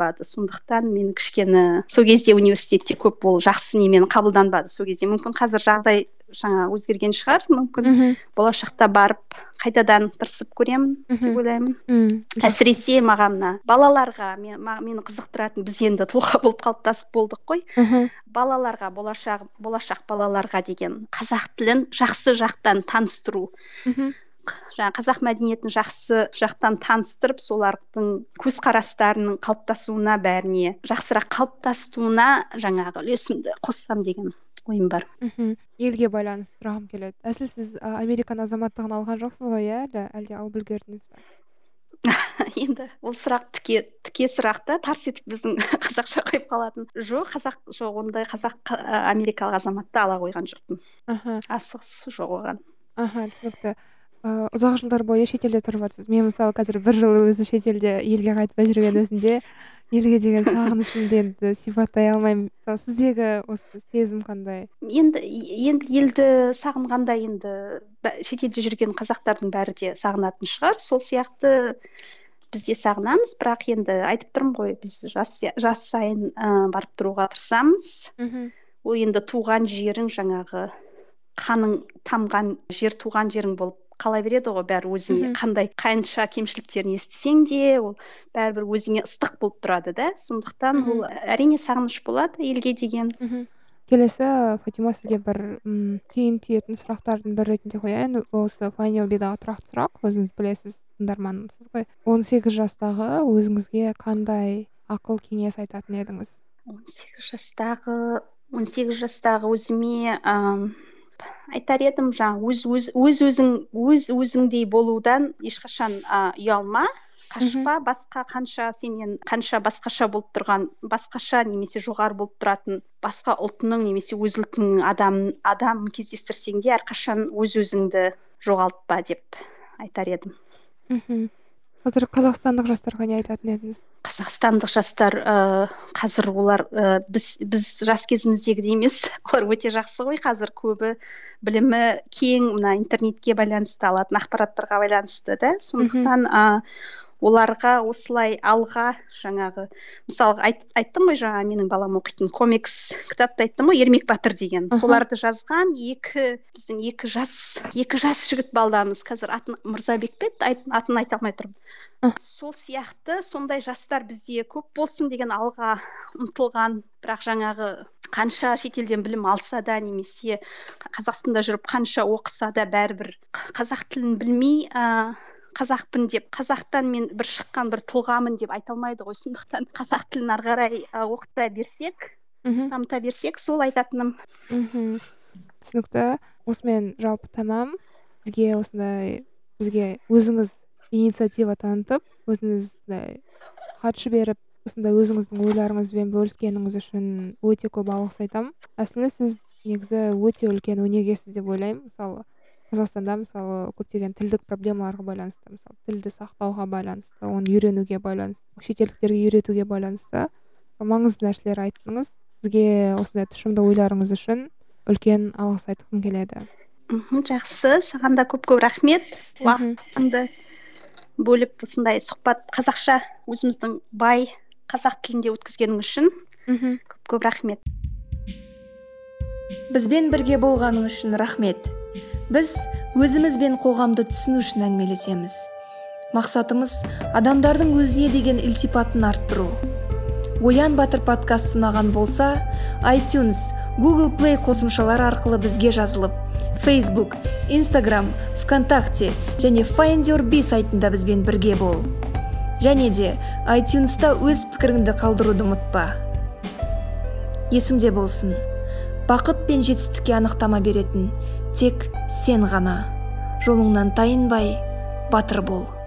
Speaker 3: қабылданбады, сондықтан мен кішкене сол кезде университетте көп ол жақсы немен қабылданбады сол кезде. Мүмкін қазір жағдай жаңа өзгерген шығар, мүмкін болашақта барып қайтадан тырысып көремін деп ойлаймын. Әсіресе маған мына балаларға мен, мені қызықтыратын, біз енді тұлға болып қалыптасып болдық қой. Балаларға, болашақ болашақ балаларға деген қазақ тілін жақсы жақтан таныстыру. Жаңа қазақ мәдениетін жақсы жақтан таныстырып, солардың көзқарастарының қалыптасуына, бәріне жақсырақ қалыптасуына жаңағы үлесімді қоссам деген ойым бар.
Speaker 2: Елге байланысты сұрағым келеді. Әсіл сіз Американ азаматтығын алған жоқсыз ғой, иә? Әлде алып үлгердіңіз бе?
Speaker 3: Енді ол сұрақ тіке тіке сұрақ та, тарс етіп біздің қазақша қойып қалатын. Жоқ, қазақ жоқ, ондай қазақ америкалық азаматты ала қойған жоқпын. Асығыс жоқ оған.
Speaker 2: Аха, түсінікті. Ұзақ жылдар бойы шетелде тұрып жатсыз. Мен мысалы қазір бір жыл өзі шетелде елге қайтпай жүрген өзінде елге деген сағынышымды енді сипаттай алмаймын. Сіздегі осы сезім қандай?
Speaker 3: Енді енді елді сағынғанда енді шетелде жүрген қазақтардың бәрі де сағынатын шығар. Сол сияқты біз де сағынамыз, бірақ енді айтып тұрмын ғой, біз жас жас сайын барып тұруға тырысамыз. Ол енді туған жерің, жаңағы қаның тамған жер, туған жерің болып қала береді ғой, бәрі өзіңе қандай қанша кемшіліктерін естісең де, ол бәрібір өзіңе ыстық болып тұрады да. Сондықтан ол әрине сағыныш болады елге деген.
Speaker 2: Келесі, Фатима, сізге бір түйін түйетін сұрақтардың бір ретінде қояйын. Осы Файндюрбидағы тұрақты сұрақ, өзіңіз білесіз, тыңдармансыз ғой. он сегіз жастағы өзіңізге қандай ақыл кеңес айтатын едіңіз?
Speaker 3: он сегіз жастағы он сегіз жастағы өзіме айтар едім, жаңа өз өз өз өзің өз өзіңдей болудан ешқашан ұялма, қашпа. Басқа қанша сенен қанша басқаша болып тұрған, басқаша немесе жоғары болып тұратын басқа ұлтының немесе өз ұлтының адам адам кездестірсең де әрқашан өз өзіңді жоғалтпа деп айтар едім.
Speaker 2: Қазір қазақстандық жастарға не айтатын едіңіз?
Speaker 3: Қазақстандық жастар қазір олар біз біз жас кезіміздегідей емес, олар өте жақсы ғой. Қазір көбі білімі кең, мына интернетке байланысты, алатын ақпараттарға байланысты да. Сондықтан оларға осылай алға, жаңағы мысалы айт, айттым ғой, жаңа менің балам оқитын комикс кітапты айттым ғой, Ермек Батыр деген. Соларды жазған екі біздің екі жас екі жас жігіт балдамыз. Қазір атын Мырзабек пе еді, атын айта алмай тұрмын. Сол сияқты сондай жастар бізде көп болсын деген, алға ұмтылған, бірақ жаңағы қанша шетелден білім алса да немесе Қазақстанда жүріп қанша оқыса да бәрібір қазақ тілін білмей қазақпын деп, қазақтан мен бір шыққан бір тұлғамын деп айта алмайды ғой. Сондықтан қазақ тілін ары қарай оқыта берсек, дамыта берсек, сол айтатыным.
Speaker 2: Түсінікті. Осымен жалпы тамам. Сізге осындай, бізге өзіңіз инициатива танытып, өзіңіз хат жіберіп, осындай өзіңіздің ойларыңызбен бөліскеніңіз үшін өте көп алғыс айтамын. Әсілі сіз негізі өте үлкен өнегесіз деп ойлаймын. Мысалы Қазақстанда мысалы көптеген тілдік проблемаларға байланысты, мысалы тілді сақтауға байланысты, оны үйренуге байланысты, шетелдіктерге үйретуге байланысты маңызды нәрселер айттыңыз. Сізге осындай тұшымды ойларыңыз үшін үлкен алғыс айтқым келеді.
Speaker 3: Жақсы, саған да көп-көп рахмет. Уақытыңды бөліп осындай сұхбат қазақша өзіміздің бай қазақ тілінде өткізгенің үшін көп-көп рахмет.
Speaker 1: Бізбен бірге болғаның үшін рахмет. Біз өзіміз бен қоғамды түсіну үшін әңгімелесеміз. Мақсатымыз адамдардың өзіне деген ілтипатын арттыру. Оян Батыр подкасты ұнаған болса, iTunes, Google Play қосымшалары арқылы бізге жазылып, Facebook, Instagram, ВКонтакте және Findyourbe сайтында бізбен бірге бол. Және де iTunes'та өз пікіріңді қалдыруды ұмытпа. Есіңде болсын, бақыт пен жетістікке анықтама беретін тек сен ғана. Жолыңнан тайынбай, батыр бол.